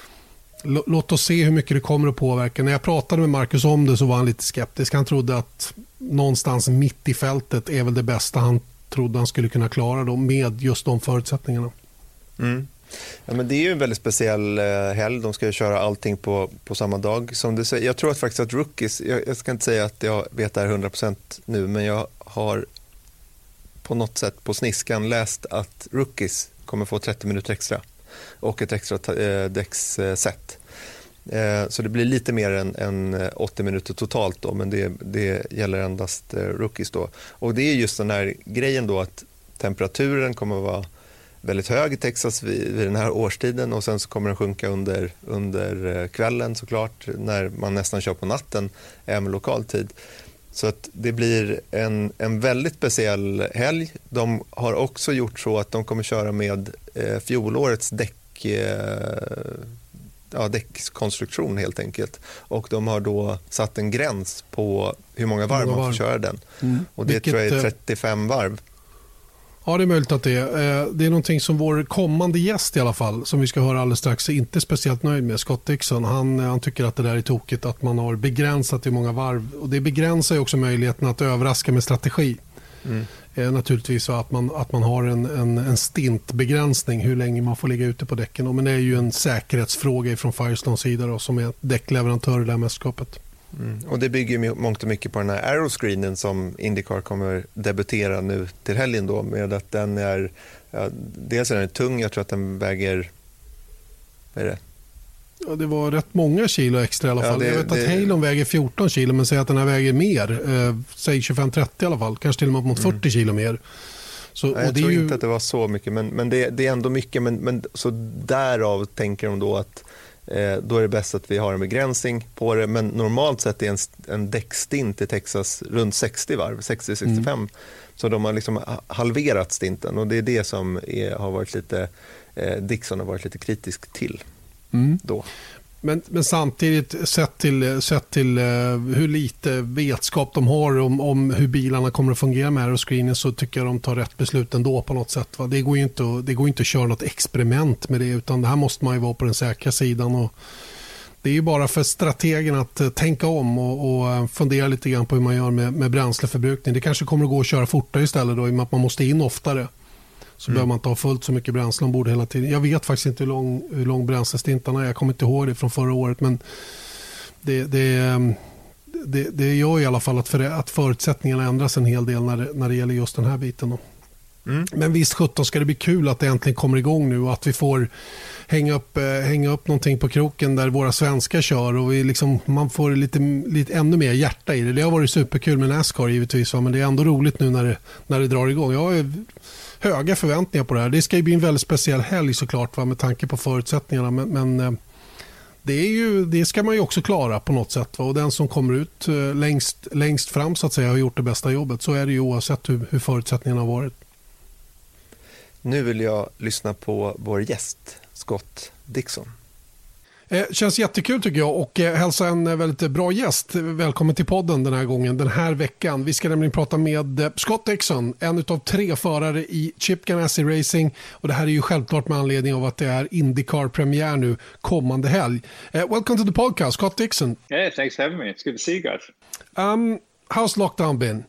låt oss se hur mycket det kommer att påverka. När jag pratade med Marcus om det så var han lite skeptisk. Han trodde att någonstans mitt i fältet är väl det bästa han trodde han skulle kunna klara då, med just de förutsättningarna. Mm. Ja, men det är ju en väldigt speciell helg. De ska ju köra allting på, på samma dag. Som du säger, jag tror att faktiskt att rookies, jag, jag ska inte säga att jag vet det här hundra procent nu, men jag har på något sätt på sniskan läst att rookies kommer få trettio minuter extra och ett extra eh, däcksset. Eh, så det blir lite mer än, än åttio minuter totalt då, men det, det gäller endast eh, rookies då. Och det är just den här grejen då, att temperaturen kommer att vara väldigt hög i Texas vid, vid den här årstiden, och sen så kommer den sjunka under, under kvällen såklart, när man nästan kör på natten, även lokal tid. Så att det blir en, en väldigt speciell helg. De har också gjort så att de kommer köra med eh, fjolårets däck, eh, ja, däckskonstruktion helt enkelt. Och de har då satt en gräns på hur många varv man får köra den. Mm. Och det Vilket, tror jag är trettiofem varv. Ja, det är möjligt att det är. Det är någonting som vår kommande gäst i alla fall, som vi ska höra alldeles strax, är inte speciellt nöjd med. Scott Dixon, han, han tycker att det där är tokigt, att man har begränsat hur många varv. Och det begränsar ju också möjligheten att överraska med strategi. Mm. Eh, naturligtvis så att man, att man har en, en, en stintbegränsning hur länge man får ligga ute på däcken. Men det är ju en säkerhetsfråga från Firestones sida då, som är däckleverantör i det här mästerskapet. Mm. Och det bygger mångt och mycket på den här aeroscreenen som IndyCar kommer debutera nu till helgen då, med att den är, ja, dels är den tung, jag tror att den väger, vad är det? Ja, det var rätt många kilo extra i alla fall. Ja, det, jag vet det, att Halon väger fjorton kilo, men säg att den här väger mer, eh, säg tjugofem trettio i alla fall, kanske till och med mot fyrtio mm. kilo mer. Så, Nej, jag och det tror är ju... inte att det var så mycket, men, men det, det är ändå mycket, men, men så därav tänker de då att Eh, då är det bäst att vi har en begränsning på det, men normalt sett är en, en däckstint i Texas runt sextio varv, sextio till sextiofem, mm. så de har liksom halverat stinten, och det är det som är, har varit lite eh, Dixon har varit lite kritisk till mm. då. Men, men samtidigt sett till, sett till uh, hur lite vetskap de har om, om hur bilarna kommer att fungera med aeroscreenen, så tycker jag de tar rätt beslut ändå på något sätt. Va? Det går ju inte, det går inte att köra något experiment med det, utan det här måste man ju vara på den säkra sidan. Och det är ju bara för strategen att uh, tänka om och, och uh, fundera lite grann på hur man gör med, med bränsleförbrukning. Det kanske kommer att gå att köra fortare istället då, i och med att man måste in oftare. Så mm. behöver man inte ha fullt så mycket bränsle ombord hela tiden. Jag vet faktiskt inte hur lång, hur lång bränslestintarna är. Jag kommer inte ihåg det från förra året. Men det, det, det, det gör i alla fall att, för, att förutsättningarna ändras en hel del när det, när det gäller just den här biten. Då. Mm. Men visst sjutton ska det bli kul att det äntligen kommer igång nu. Och att vi får hänga upp, hänga upp någonting på kroken där våra svenskar kör. Och vi liksom, man får lite, lite ännu mer hjärta i det. Det har varit superkul med NASCAR givetvis. Va? Men det är ändå roligt nu när det, när det drar igång. Jag är höga förväntningar på det här. Det ska ju bli en väldigt speciell helg såklart, va, med tanke på förutsättningarna. Men, men det, är ju, det ska man ju också klara på något sätt. Va? Och den som kommer ut längst, längst fram så att säga har gjort det bästa jobbet. Så är det ju oavsett hur, hur förutsättningarna har varit. Nu vill jag lyssna på vår gäst, Scott Dixon. Eh, känns jättekul tycker jag, och eh, hälsa en väldigt bra gäst. Välkommen till podden den här gången, den här veckan. Vi ska nämligen prata med eh, Scott Dixon, en av tre förare i Chip Ganassi Racing. Och det här är ju självklart med anledning av att det är IndyCar-premiär nu kommande helg. Eh, welcome to the podcast, Scott Dixon. Yeah, thanks for having me. It's good to see you guys. Um, how's lockdown been?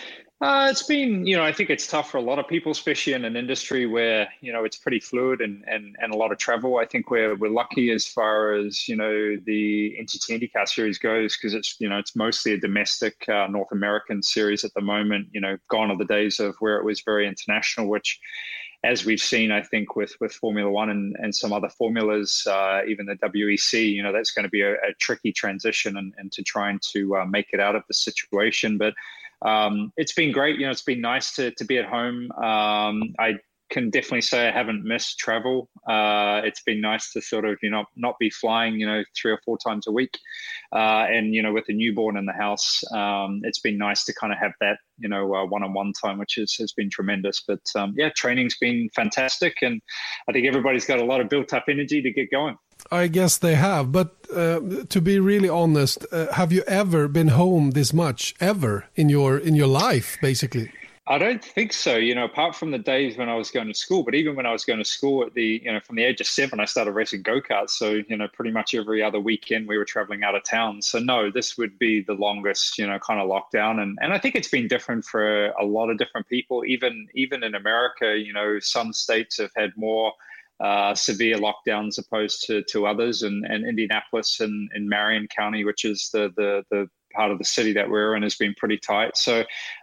Uh, it's been, you know, I think it's tough for a lot of people, especially in an industry where, you know, it's pretty fluid and, and, and a lot of travel. I think we're we're lucky as far as, you know, the N T T IndyCar series goes, because it's, you know, it's mostly a domestic uh, North American series at the moment. You know, gone are the days of where it was very international, which, as we've seen, I think with, with Formula One and, and some other formulas, uh, even the W E C, you know, that's going to be a, a tricky transition and, and to trying to uh, make it out of the situation. But Um, it's been great. You know, it's been nice to to be at home. Um, I can definitely say I haven't missed travel. Uh, it's been nice to sort of, you know, not be flying, you know, three or four times a week. Uh, and, you know, with a newborn in the house, um, it's been nice to kind of have that, you know, uh, one-on-one time, which is, has been tremendous. But, um, yeah, training's been fantastic. And I think everybody's got a lot of built-up energy to get going. I guess they have. But uh, to be really honest, uh, have you ever been home this much, ever, in your in your life, basically? I don't think so, you know, apart from the days when I was going to school. But even when I was going to school at the, you know, from the age of seven, I started racing go-karts. So, you know, pretty much every other weekend we were traveling out of town. So, no, this would be the longest, you know, kind of lockdown. And, and I think it's been different for a lot of different people. Even, even in America, you know, some states have had more uh, severe lockdowns opposed to, to others. And, and Indianapolis and, and Marion County, which is the, the, the, part of the city that we're in, has been pretty tight. So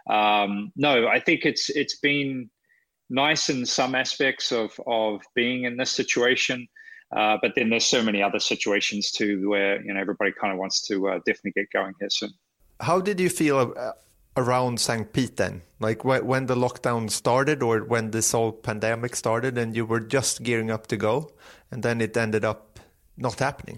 um, no, I think it's it's been nice in some aspects of of being in this situation, uh, but then there's so many other situations too where, you know, everybody kind of wants to uh, definitely get going here soon. How did you feel uh, around Saint Pete then? Like wh- when the lockdown started, or when this whole pandemic started and you were just gearing up to go, and then it ended up not happening?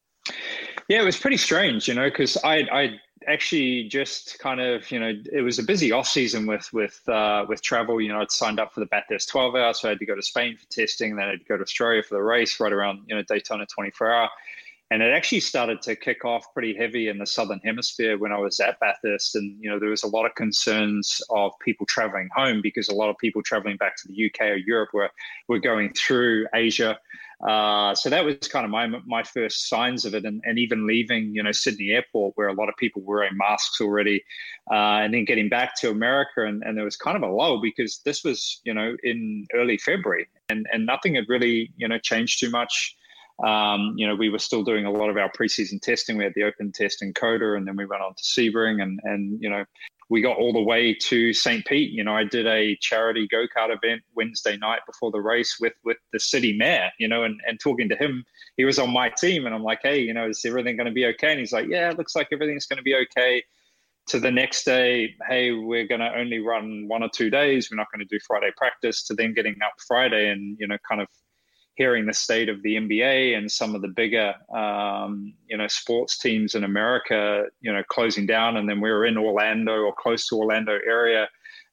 Yeah, it was pretty strange, you know, because I I actually just kind of, you know, it was a busy off season with with uh, with travel. You know, I'd signed up for the Bathurst twelve hour, so I had to go to Spain for testing, then I had to go to Australia for the race right around, you know, Daytona twenty-four hour. And it actually started to kick off pretty heavy in the Southern Hemisphere when I was at Bathurst. And, you know, there was a lot of concerns of people traveling home, because a lot of people traveling back to the U K or Europe were, were going through Asia. Uh, so that was kind of my my first signs of it. And, and even leaving, you know, Sydney Airport, where a lot of people were wearing masks already, uh, and then getting back to America. And, and there was kind of a lull, because this was, you know, in early February, and, and nothing had really, you know, changed too much. Um, you know, we were still doing a lot of our preseason testing. We had the open test in Coda, and then we went on to Sebring, and, and, you know, we got all the way to Saint Pete. You know, I did a charity go-kart event Wednesday night before the race with, with the city mayor, you know, and, and talking to him. He was on my team, and I'm like, hey, you know, is everything going to be okay? And he's like, yeah, it looks like everything's going to be okay. To the next day, hey, we're going to only run one or two days. We're not going to do Friday practice. To then getting up Friday and, you know, kind of hearing the state of the N B A and some of the bigger, um, you know, sports teams in America, you know, closing down. And then we were in Orlando or close to Orlando area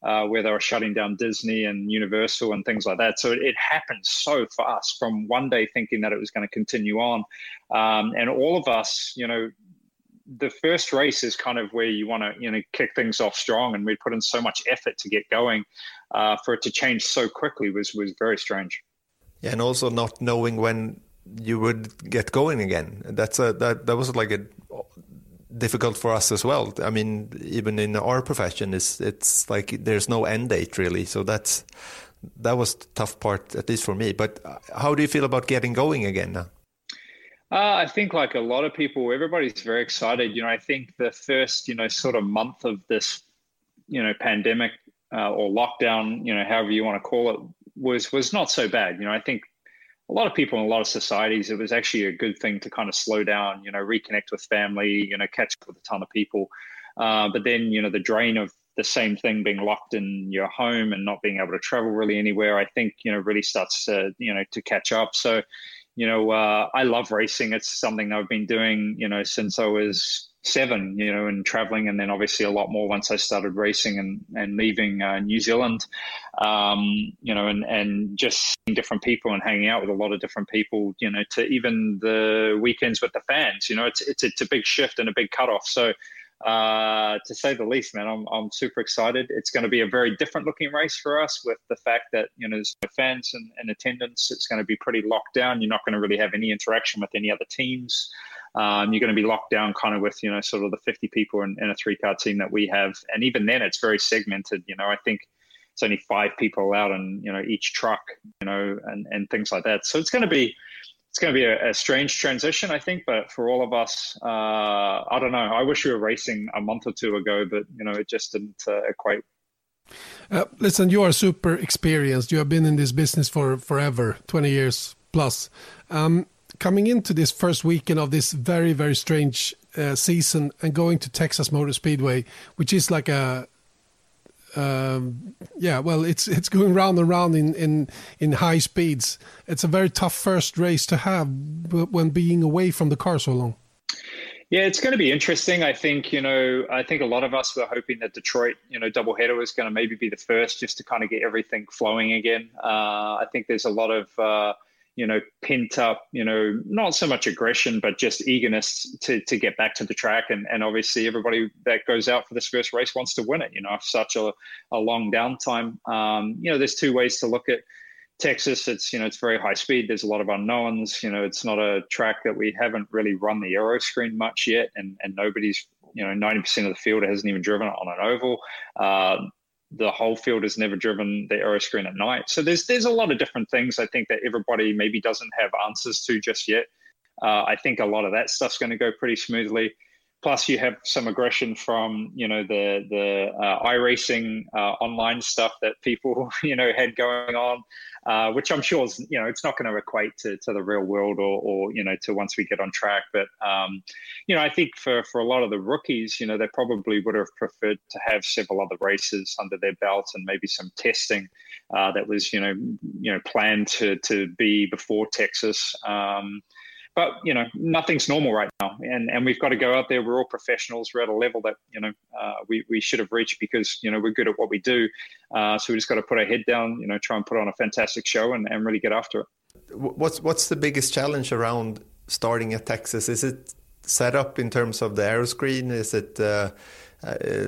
uh, where they were shutting down Disney and Universal and things like that. So it, it happened so fast from one day thinking that it was going to continue on. Um, and all of us, you know, the first race is kind of where you want to, you know, kick things off strong, and we put in so much effort to get going. Uh, for it to change so quickly was was very strange. Yeah, and also not knowing when you would get going again. That's a that that was like a difficult for us as well. I mean, even in our profession, it's it's like there's no end date really. So that's that was the tough part, at least for me. But how do you feel about getting going again now? Uh, I think like a lot of people, everybody's very excited. You know, I think the first, you know, sort of month of this, you know, pandemic uh, or lockdown, you know, however you want to call it, was was not so bad. You know, I think a lot of people in a lot of societies, it was actually a good thing to kind of slow down, you know, reconnect with family, you know, catch up with a ton of people. Uh, but then, you know, the drain of the same thing being locked in your home and not being able to travel really anywhere, I think, you know, really starts to, you know, to catch up. So, you know, uh, I love racing. It's something I've been doing, you know, since I was seven, you know, and traveling, and then obviously a lot more once I started racing and, and leaving uh, New Zealand, um, you know, and, and just seeing different people and hanging out with a lot of different people, you know, to even the weekends with the fans, you know, it's, it's, it's a big shift and a big cutoff. So, Uh, to say the least, man, I'm I'm super excited. It's going to be a very different looking race for us, with the fact that, you know, there's no fans and, and attendance. It's going to be pretty locked down. You're not going to really have any interaction with any other teams. Um, you're going to be locked down kind of with, you know, sort of the fifty people in, in a three car team that we have. And even then it's very segmented. You know, I think it's only five people allowed in, you know, each truck, you know, and, and things like that. So it's going to be, It's going to be a, a strange transition, I think, but for all of us, uh, I don't know. I wish we were racing a month or two ago, but, you know, it just didn't uh, equate. Uh, listen, you are super experienced. You have been in this business for forever, twenty years plus. Um, coming into this first weekend of this very, very strange uh, season and going to Texas Motor Speedway, which is like a, Um, yeah, well, it's it's going round and round in, in, in high speeds. It's a very tough first race to have when being away from the car so long. Yeah, it's going to be interesting. I think, you know, I think a lot of us were hoping that Detroit, you know, doubleheader was going to maybe be the first, just to kind of get everything flowing again. Uh, I think there's a lot of, uh, you know, pent up, you know, not so much aggression, but just eagerness to to get back to the track. And, and obviously everybody that goes out for this first race wants to win it, you know, such a, a long downtime. Um, you know, there's two ways to look at Texas. It's, you know, it's very high speed. There's a lot of unknowns. You know, it's not a track that we haven't really run the aero screen much yet. And, and nobody's, you know, ninety percent of the field hasn't even driven it on an oval. Uh, The whole field has never driven the aero screen at night. So there's there's a lot of different things I think that everybody maybe doesn't have answers to just yet. Uh, I think a lot of that stuff's going to go pretty smoothly. Plus you have some aggression from, you know, the the uh, iRacing uh, online stuff that people, you know, had going on, uh, which I'm sure is, you know, it's not going to equate to, to the real world or, or, you know, to once we get on track. But, um, you know, I think for, for a lot of the rookies, you know, they probably would have preferred to have several other races under their belt and maybe some testing uh, that was, you know, you know, planned to, to be before Texas. Um, But, you know, nothing's normal right now. And and we've got to go out there. We're all professionals. We're at a level that, you know, uh, we, we should have reached because, you know, we're good at what we do. Uh, so we just got to put our head down, you know, try and put on a fantastic show and, and really get after it. What's, what's the biggest challenge around starting at Texas? Is it set up in terms of the aero screen? Is it uh, uh,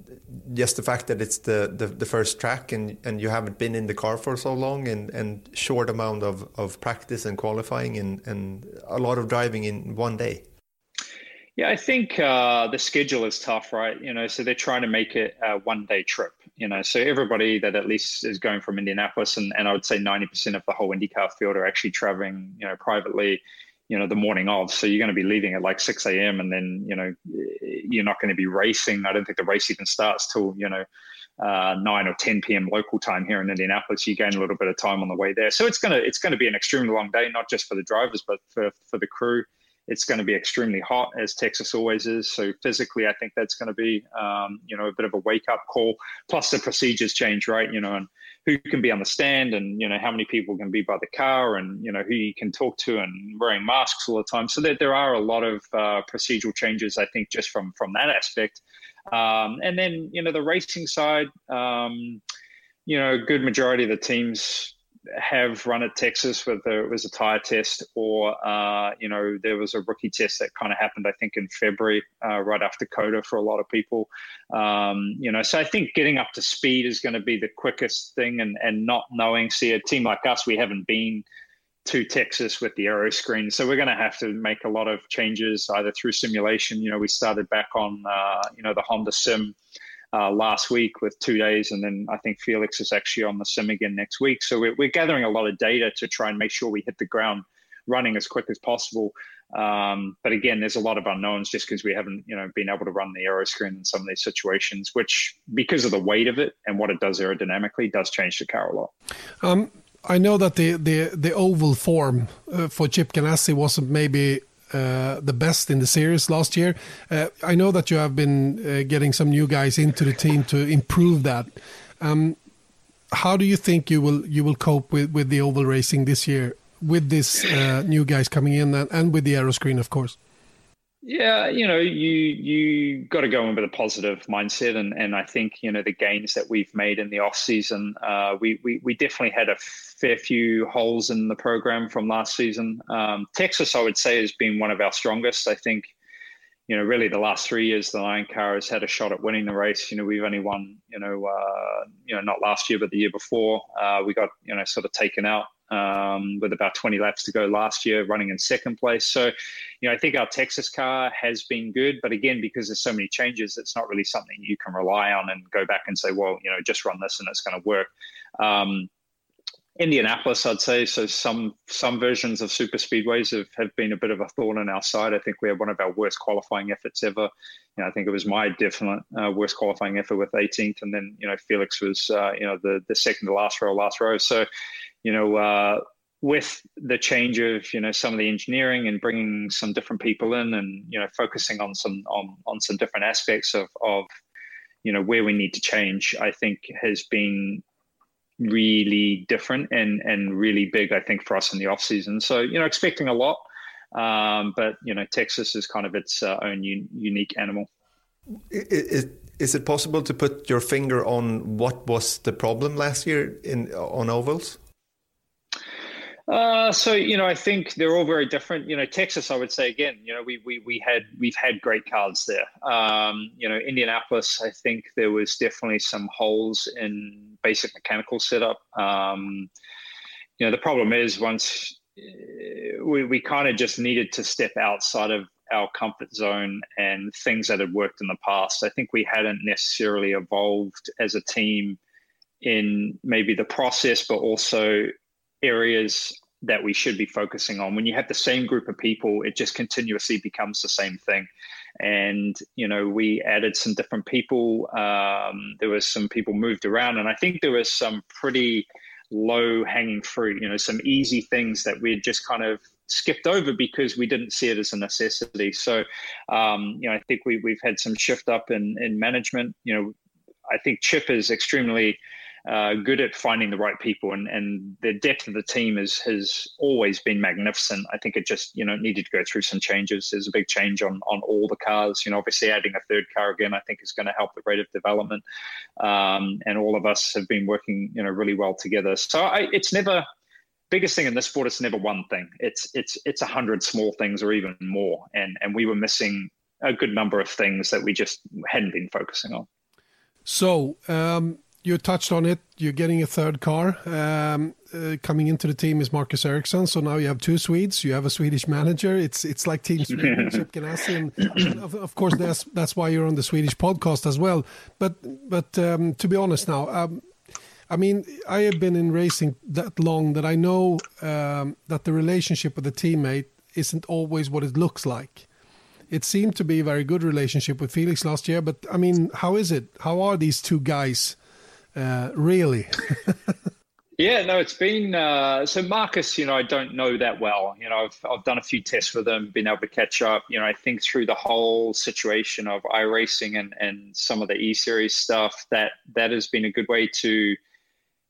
just the fact that it's the, the, the first track and, and you haven't been in the car for so long and, and short amount of, of practice and qualifying and, and a lot of driving in one day? Yeah, I think uh, the schedule is tough, right? You know, so they're trying to make it a one-day trip, you know, so everybody that at least is going from Indianapolis, and, and I would say ninety percent of the whole IndyCar field are actually traveling, you know, privately, you know, the morning of. So you're going to be leaving at like six a.m. and then, you know, you're not going to be racing. I don't think the race even starts till, you know, uh, nine or ten p.m. local time here in Indianapolis. You gain a little bit of time on the way there. So it's going to, it's going to be an extremely long day, not just for the drivers, but for, for the crew. It's going to be extremely hot, as Texas always is. So physically, I think that's going to be, um, you know, a bit of a wake-up call. Plus the procedures change, right? You know, and who can be on the stand and, you know, how many people can be by the car and, you know, who you can talk to and wearing masks all the time. So that there are a lot of uh, procedural changes, I think, just from, from that aspect. Um, and then, you know, the racing side, um, you know, a good majority of the teams have run at Texas, whether it was a tire test or, uh, you know, there was a rookie test that kind of happened, I think, in February, uh, right after COTA for a lot of people. Um, you know, so I think getting up to speed is going to be the quickest thing, and, and not knowing, see, a team like us, we haven't been to Texas with the aero screen. So we're going to have to make a lot of changes either through simulation. You know, we started back on, uh, you know, the Honda Sim uh, last week with two days. And then I think Felix is actually on the Sim again next week. So we're, we're gathering a lot of data to try and make sure we hit the ground running as quick as possible. Um, but again, there's a lot of unknowns just because we haven't, you know, been able to run the aero screen in some of these situations, which because of the weight of it and what it does aerodynamically does change the car a lot. Um, I know that the, the, the oval form uh, for Chip Ganassi wasn't maybe uh, the best in the series last year. Uh, I know that you have been uh, getting some new guys into the team to improve that. Um, how do you think you will you will cope with, with the oval racing this year with these uh, new guys coming in and, and with the aero screen, of course? Yeah, you know, you you got to go in with a positive mindset, and, and I think, you know, the gains that we've made in the off season, uh, we, we we definitely had a fair few holes in the program from last season. Um, Texas, I would say, has been one of our strongest. I think, you know, really the last three years, the Lion Car has had a shot at winning the race. You know, we've only won, you know, uh, you know, not last year, but the year before. Uh, we got, you know, sort of taken out um, with about twenty laps to go last year, running in second place. So, you know, I think our Texas car has been good, but again, because there's so many changes, it's not really something you can rely on and go back and say, well, you know, just run this and it's going to work. Um, Indianapolis, I'd say, so some some versions of super speedways have, have been a bit of a thorn in our side. I think we had one of our worst qualifying efforts ever. You know, I think it was my definite uh, worst qualifying effort with eighteenth, and then, you know, Felix was, uh, you know, the, the second to last row, last row. So, you know, uh, with the change of, you know, some of the engineering and bringing some different people in and, you know, focusing on some on, on some different aspects of, of, you know, where we need to change, I think has been really different and and really big, I think, for us in the off season. So, you know, expecting a lot, um, but, you know, Texas is kind of its uh, own un- unique animal. Is, is it possible to put your finger on what was the problem last year in on ovals? Uh, so, you know, I think they're all very different. You know, Texas, I would say, again, you know, we we we had we've had great cars there. Um, you know, Indianapolis, I think there was definitely some holes in basic mechanical setup. Um, you know, the problem is once uh, we we kind of just needed to step outside of our comfort zone and things that had worked in the past. I think we hadn't necessarily evolved as a team in maybe the process, but also areas that we should be focusing on. When you have the same group of people, it just continuously becomes the same thing. And, you know, we added some different people. Um, there was some people moved around, and I think there was some pretty low hanging fruit, you know, some easy things that we had just kind of skipped over because we didn't see it as a necessity. So, um, you know, I think we, we've had some shift up in, in management. You know, I think Chip is extremely Uh, good at finding the right people, and, and the depth of the team is, has always been magnificent. I think it just, you know, needed to go through some changes. There's a big change on, on all the cars. You know, obviously adding a third car again, I think is going to help the rate of development. Um, and all of us have been working, you know, really well together. So I, it's never, biggest thing in this sport, it's never one thing. It's, it's, it's a hundred small things or even more. And, and we were missing a good number of things that we just hadn't been focusing on. So, um, you touched on it. You're getting a third car. Um, uh, coming into the team is Marcus Ericsson. So now you have two Swedes. You have a Swedish manager. It's it's like Team Sweden, Chip Ganassi, and, and of, of course that's that's why you're on the Swedish podcast as well. But but um, to be honest now, um, I mean, I have been in racing that long that I know um, that the relationship with the teammate isn't always what it looks like. It seemed to be a very good relationship with Felix last year, but I mean, how is it? How are these two guys? Uh, really? Yeah, no, it's been, uh, so Marcus, you know, I don't know that well. You know, I've, I've done a few tests with him, been able to catch up. You know, I think through the whole situation of iRacing and, and some of the E-Series stuff, that, that has been a good way to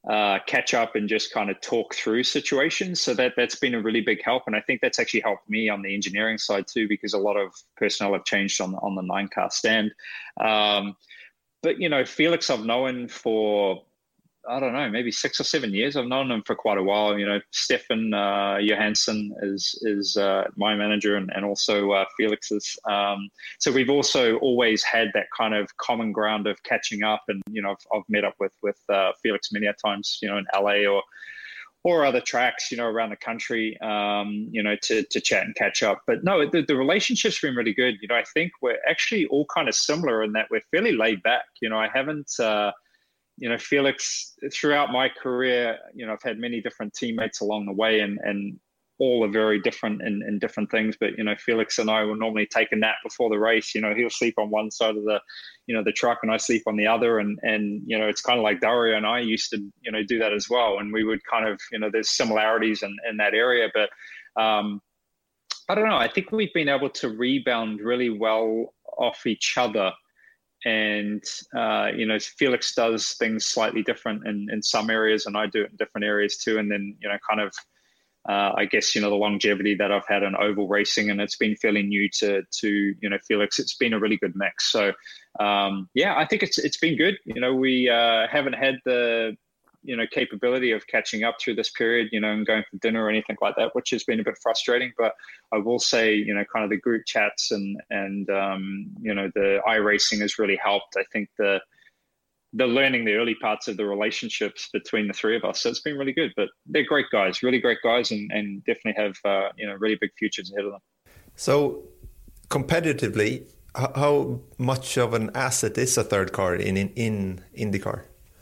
uh, catch up and just kind of talk through situations. So that, that's been a really big help. And I think that's actually helped me on the engineering side too, because a lot of personnel have changed on, on the nine car stand. Um, but, you know, Felix I've known for, I don't know, maybe six or seven years. I've known him for quite a while. You know, Stefan uh, Johansson is is uh, my manager, and, and also uh, Felix's. Um, so we've also always had that kind of common ground of catching up. And, you know, I've, I've met up with with uh, Felix many a times, you know, in L A or or other tracks, you know, around the country, um, you know, to to chat and catch up. But no, the, the relationship's been really good. You know, I think we're actually all kind of similar in that we're fairly laid back. You know, I haven't. Uh, You know, Felix, throughout my career, you know, I've had many different teammates along the way, and, and all are very different in, in different things. But, you know, Felix and I will normally take a nap before the race. You know, he'll sleep on one side of the, you know, the truck, and I sleep on the other. And, and you know, it's kind of like Dario and I used to, you know, do that as well. And we would kind of, you know, there's similarities in, in that area. But um, I don't know. I think we've been able to rebound really well off each other. And, uh, you know, Felix does things slightly different in, in some areas, and I do it in different areas too. And then, you know, kind of, uh, I guess, you know, the longevity that I've had in oval racing, and it's been fairly new to, to you know, Felix. It's been a really good mix. So, um, yeah, I think it's it's been good. You know, we uh, haven't had the, you know, capability of catching up through this period, you know, and going for dinner or anything like that, which has been a bit frustrating. But I will say, you know, kind of the group chats and, and um, you know, the iRacing has really helped. I think the the learning the early parts of the relationships between the three of us. So it's been really good. But they're great guys, really great guys, and, and definitely have, uh, you know, really big futures ahead of them. So competitively, how much of an asset is a third car in, in, in IndyCar?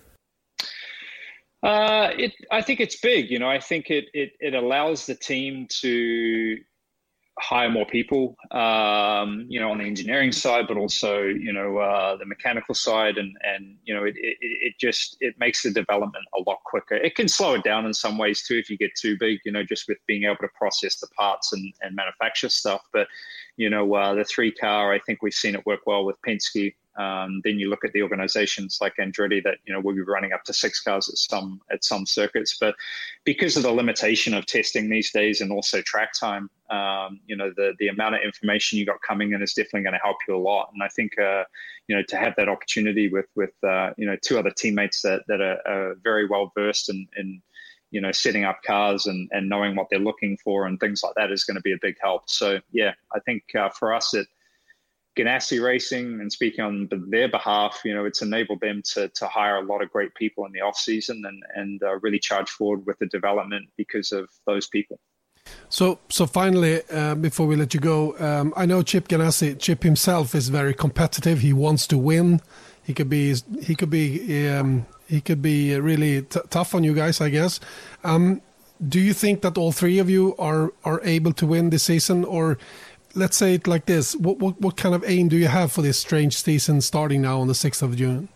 Uh, it, I think it's big. You know, I think it, it, it allows the team to hire more people, um, you know, on the engineering side, but also, you know, uh, the mechanical side. And, and you know, it, it, it just, it makes the development a lot quicker. It can slow it down in some ways too, if you get too big, you know, just with being able to process the parts and, and manufacture stuff. But, you know, uh, the three car, I think we've seen it work well with Penske. Um, then you look at the organizations like Andretti that, you know, will be running up to six cars at some at some circuits. But because of the limitation of testing these days and also track time, um, you know, the the amount of information you got coming in is definitely going to help you a lot. And I think, uh, you know, to have that opportunity with, with uh, you know, two other teammates that, that are, are very well versed in, in, you know, setting up cars and, and knowing what they're looking for and things like that is going to be a big help. So, yeah, I think uh, for us, it, Ganassi Racing, and speaking on their behalf, you know, it's enabled them to to hire a lot of great people in the off season and and uh, really charge forward with the development because of those people. So, so finally, uh, before we let you go, um, I know Chip Ganassi. Chip himself is very competitive. He wants to win. He could be he could be um, he could be really t- tough on you guys, I guess. Um, do you think that all three of you are are able to win this season, or let's say it like this, what, what what kind of aim do you have for this strange season starting now on the sixth of June?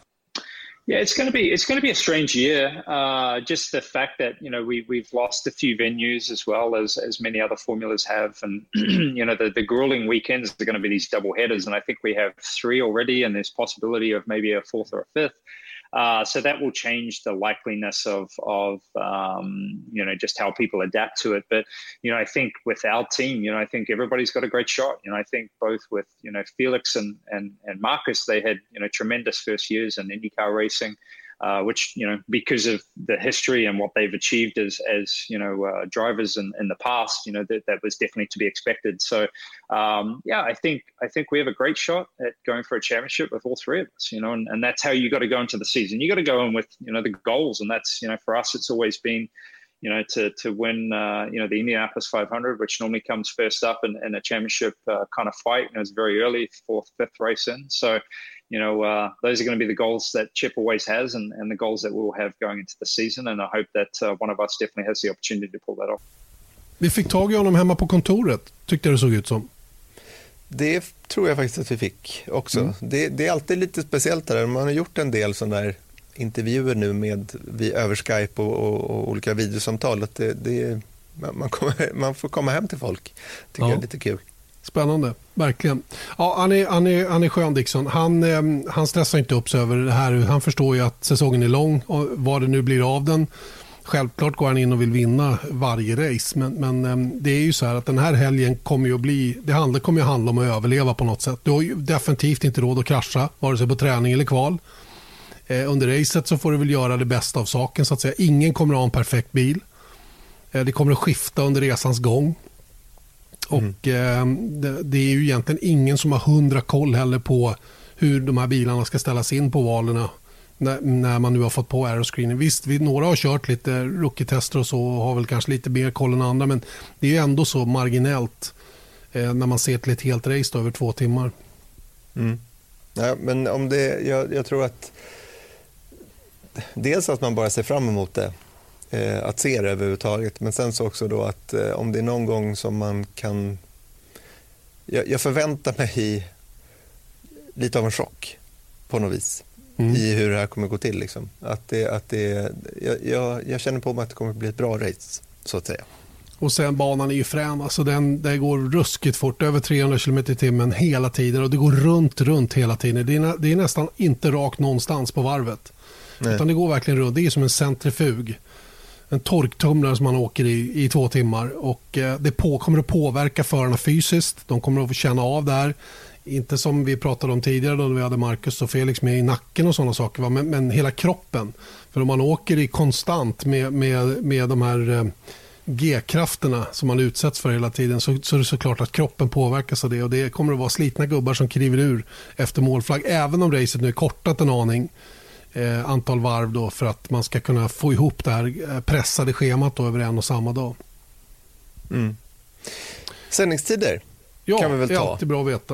Yeah, it's going to be it's going to be a strange year. Uh, just the fact that, you know, we we've lost a few venues as well as as many other formulas have, and you know, the the grueling weekends are going to be these double headers, and I think we have three already, and there's possibility of maybe a fourth or a fifth. Uh, so that will change the likeliness of, of um, you know, just how people adapt to it. But, you know, I think with our team, you know, I think everybody's got a great shot. You know, I think both with, you know, Felix and, and, and Marcus, they had, you know, tremendous first years in IndyCar racing, uh, which, you know, because of the history and what they've achieved as, as you know, uh, drivers in, in the past, you know, that, that was definitely to be expected. So, um, yeah, I think I think we have a great shot at going for a championship with all three of us, you know, and, and that's how you got to go into the season. You got to go in with, you know, the goals. And that's, you know, for us, it's always been, you know, to to win, uh, you know, the Indianapolis five hundred, which normally comes first up in, in a championship uh, kind of fight. And it was very early, fourth, fifth race in. So, you know, uh, those are going to be the goals that Chip always has and, and the goals that we'll have going into the season. And I hope that uh, one of us definitely has the opportunity to pull that off. Vi fick tag i honom hemma på kontoret, tyckte det såg ut som. Det tror jag faktiskt att vi fick också. Mm. Det, det är alltid lite speciellt där. Man har gjort en del sådana där intervjuer nu med vi över Skype och, och, och olika videosamtal. Att det, det, man, kommer, man får komma hem till folk. Tycker ja. Jag är lite kul. Spännande, verkligen. Ja, han, är, han, är, han är skön, Dixon. Han, eh, han stressar inte upp sig över det här. Han förstår ju att säsongen är lång och vad det nu blir av den. Självklart går han in och vill vinna varje race. Men, men eh, det är ju så här att den här helgen kommer ju att bli... Det handlar, kommer ju att handla om att överleva på något sätt. Du har ju definitivt inte råd att krascha, vare sig på träning eller kval. Eh, under racet så får du väl göra det bästa av saken, så att säga. Ingen kommer att ha en perfekt bil. Eh, det kommer att skifta under resans gång. Och eh, det, det är ju egentligen ingen som har hundra koll heller på hur de här bilarna ska ställas in på valerna när, när man nu har fått på aeroscreening. Visst, vi, några har kört lite rookie-tester och så och har väl kanske lite mer koll än andra, men det är ju ändå så marginellt eh, när man ser till ett helt race då, över två timmar. Mm. Ja, men om det, jag, jag tror att dels att man bara ser fram emot det, eh, att se det överhuvudtaget, men sen så också då att eh, om det är någon gång som man kan, jag, jag förväntar mig lite av en chock på något vis mm. i hur det här kommer gå till liksom. Att det, att det, jag, jag, jag känner på mig att det kommer bli ett bra race, så att säga. Och sen banan är ju frän, alltså den, det går ruskigt fort, över trehundra kilometer i timmen hela tiden, och det går runt, runt hela tiden. Det är, det är nästan inte rakt någonstans på varvet. Nej. Utan det går verkligen runt, det är som en centrifug. En torktumlare som man åker i i två timmar, och eh, det på, kommer att påverka förarna fysiskt. De kommer att få känna av det här. Inte som vi pratade om tidigare då vi hade Marcus och Felix med i nacken och sådana saker, va? Men, men hela kroppen. För om man åker i konstant med, med, med de här eh, G-krafterna som man utsätts för hela tiden, så, så är det såklart att kroppen påverkas av det, och det kommer att vara slitna gubbar som kliver ur efter målflagg, även om racet nu är kortat en aning eh, antal varv då, för att man ska kunna få ihop det här pressade schemat då över en och samma dag. Mm. Sändningstider ja, kan vi väl ta. Ja, det är alltid bra att veta.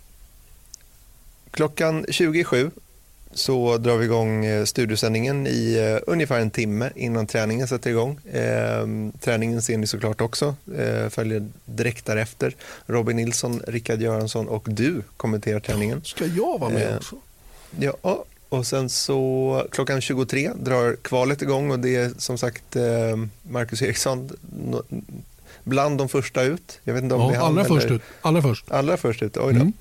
Klockan tjugo sju så drar vi igång studiosändningen i uh, ungefär en timme innan träningen sätter igång. Eh, träningen ser ni såklart också, eh, följer direkt därefter. Robin Nilsson, Rickard Göransson och du kommenterar träningen. Ska jag vara med eh, också? Ja, och sen så klockan tjugotre drar kvalet igång, och det är som sagt eh, Marcus Eriksson no, bland de första ut. Jag vet inte om ja, det är allra han, först eller... ut. Allra först. Allra först ut, oj då. Mm.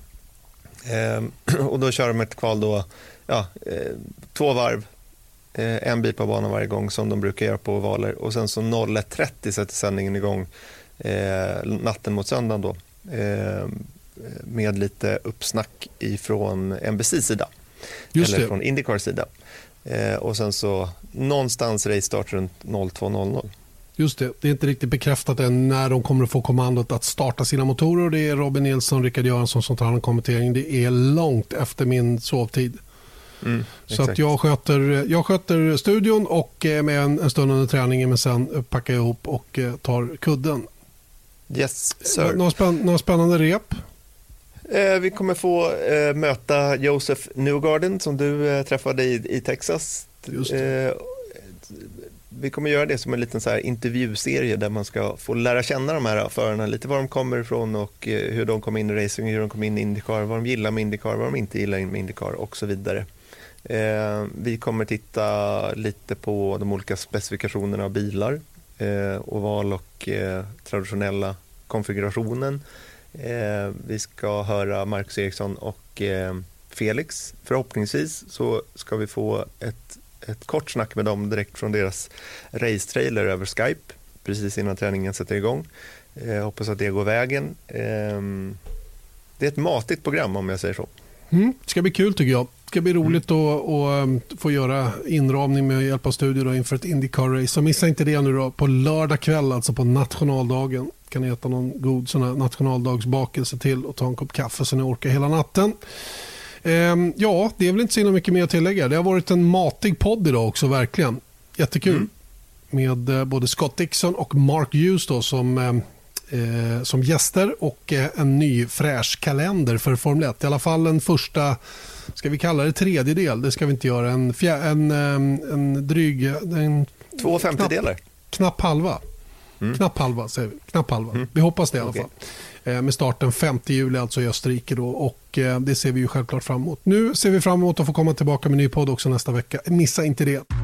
Eh, och då kör de ett kval då, ja, eh, två varv, eh, en bil på banan varje gång som de brukar göra på ovaler, och sen så noll ett trettio sätter sändningen igång eh, natten mot söndagen då, eh, med lite uppsnack ifrån N B C:s sida. Just eller det. Från Indycars sida. Eh, och sen så någonstans race start runt noll två noll noll. Just det, det är inte riktigt bekräftat än när de kommer att få kommandot att starta sina motorer. Det är Robin Nilsson och Rickard Göransson som tar hand om kommentering. Det är långt efter min sovtid. Mm, så att jag sköter, jag sköter studion och med en, en stund under träningen, men sen packar jag ihop och tar kudden. Yes, sir. Några, spänn, några spännande rep? Eh, vi kommer få eh, möta Joseph Newgarden som du eh, träffade i, i Texas. Just det. Eh, vi kommer göra det som en liten så här intervjuserie där man ska få lära känna de här förarna, lite var de kommer ifrån och eh, hur de kom in i racing, hur de kom in i Indycar, vad de gillar med Indycar, vad de inte gillar med Indycar och så vidare. Eh, vi kommer titta lite på de olika specifikationerna av bilar, eh, oval och eh, traditionella konfigurationen. Eh, vi ska höra Marcus Eriksson och eh, Felix. Förhoppningsvis så ska vi få ett, ett kort snack med dem direkt från deras race-trailer över Skype precis innan träningen sätter igång. Eh, hoppas att det går vägen. Eh, det är ett matigt program om jag säger så. Mm, det ska bli kul tycker jag. Det ska bli roligt mm. att, att, att få göra inramning med hjälp av studier då inför ett Indycar-race. Så missa inte det nu då på lördag kväll, alltså på nationaldagen. Kan ni äta någon god sån här nationaldagsbakelse till och ta en kopp kaffe så ni orkar hela natten. Ehm, ja, det är väl inte så mycket mer att tillägga. Det har varit en matig podd idag också, verkligen. Jättekul. Mm. Med eh, både Scott Dixon och Mark Hughes då, som, eh, som gäster, och eh, en ny fräsch kalender för Formel ett. I alla fall en första, ska vi kalla det tredjedel, det ska vi inte göra. En, fjär, en, en, en dryg... En, Två femtedelar. Knapp, knapp halva. Mm. Knapp halva, säger vi. Knapp halva. Mm. Vi hoppas det i alla okay. fall. Eh, med starten femte juli alltså i Österrike då, och eh, det ser vi ju självklart fram emot. Nu ser vi fram emot att få komma tillbaka med en ny podd också nästa vecka. Missa inte det.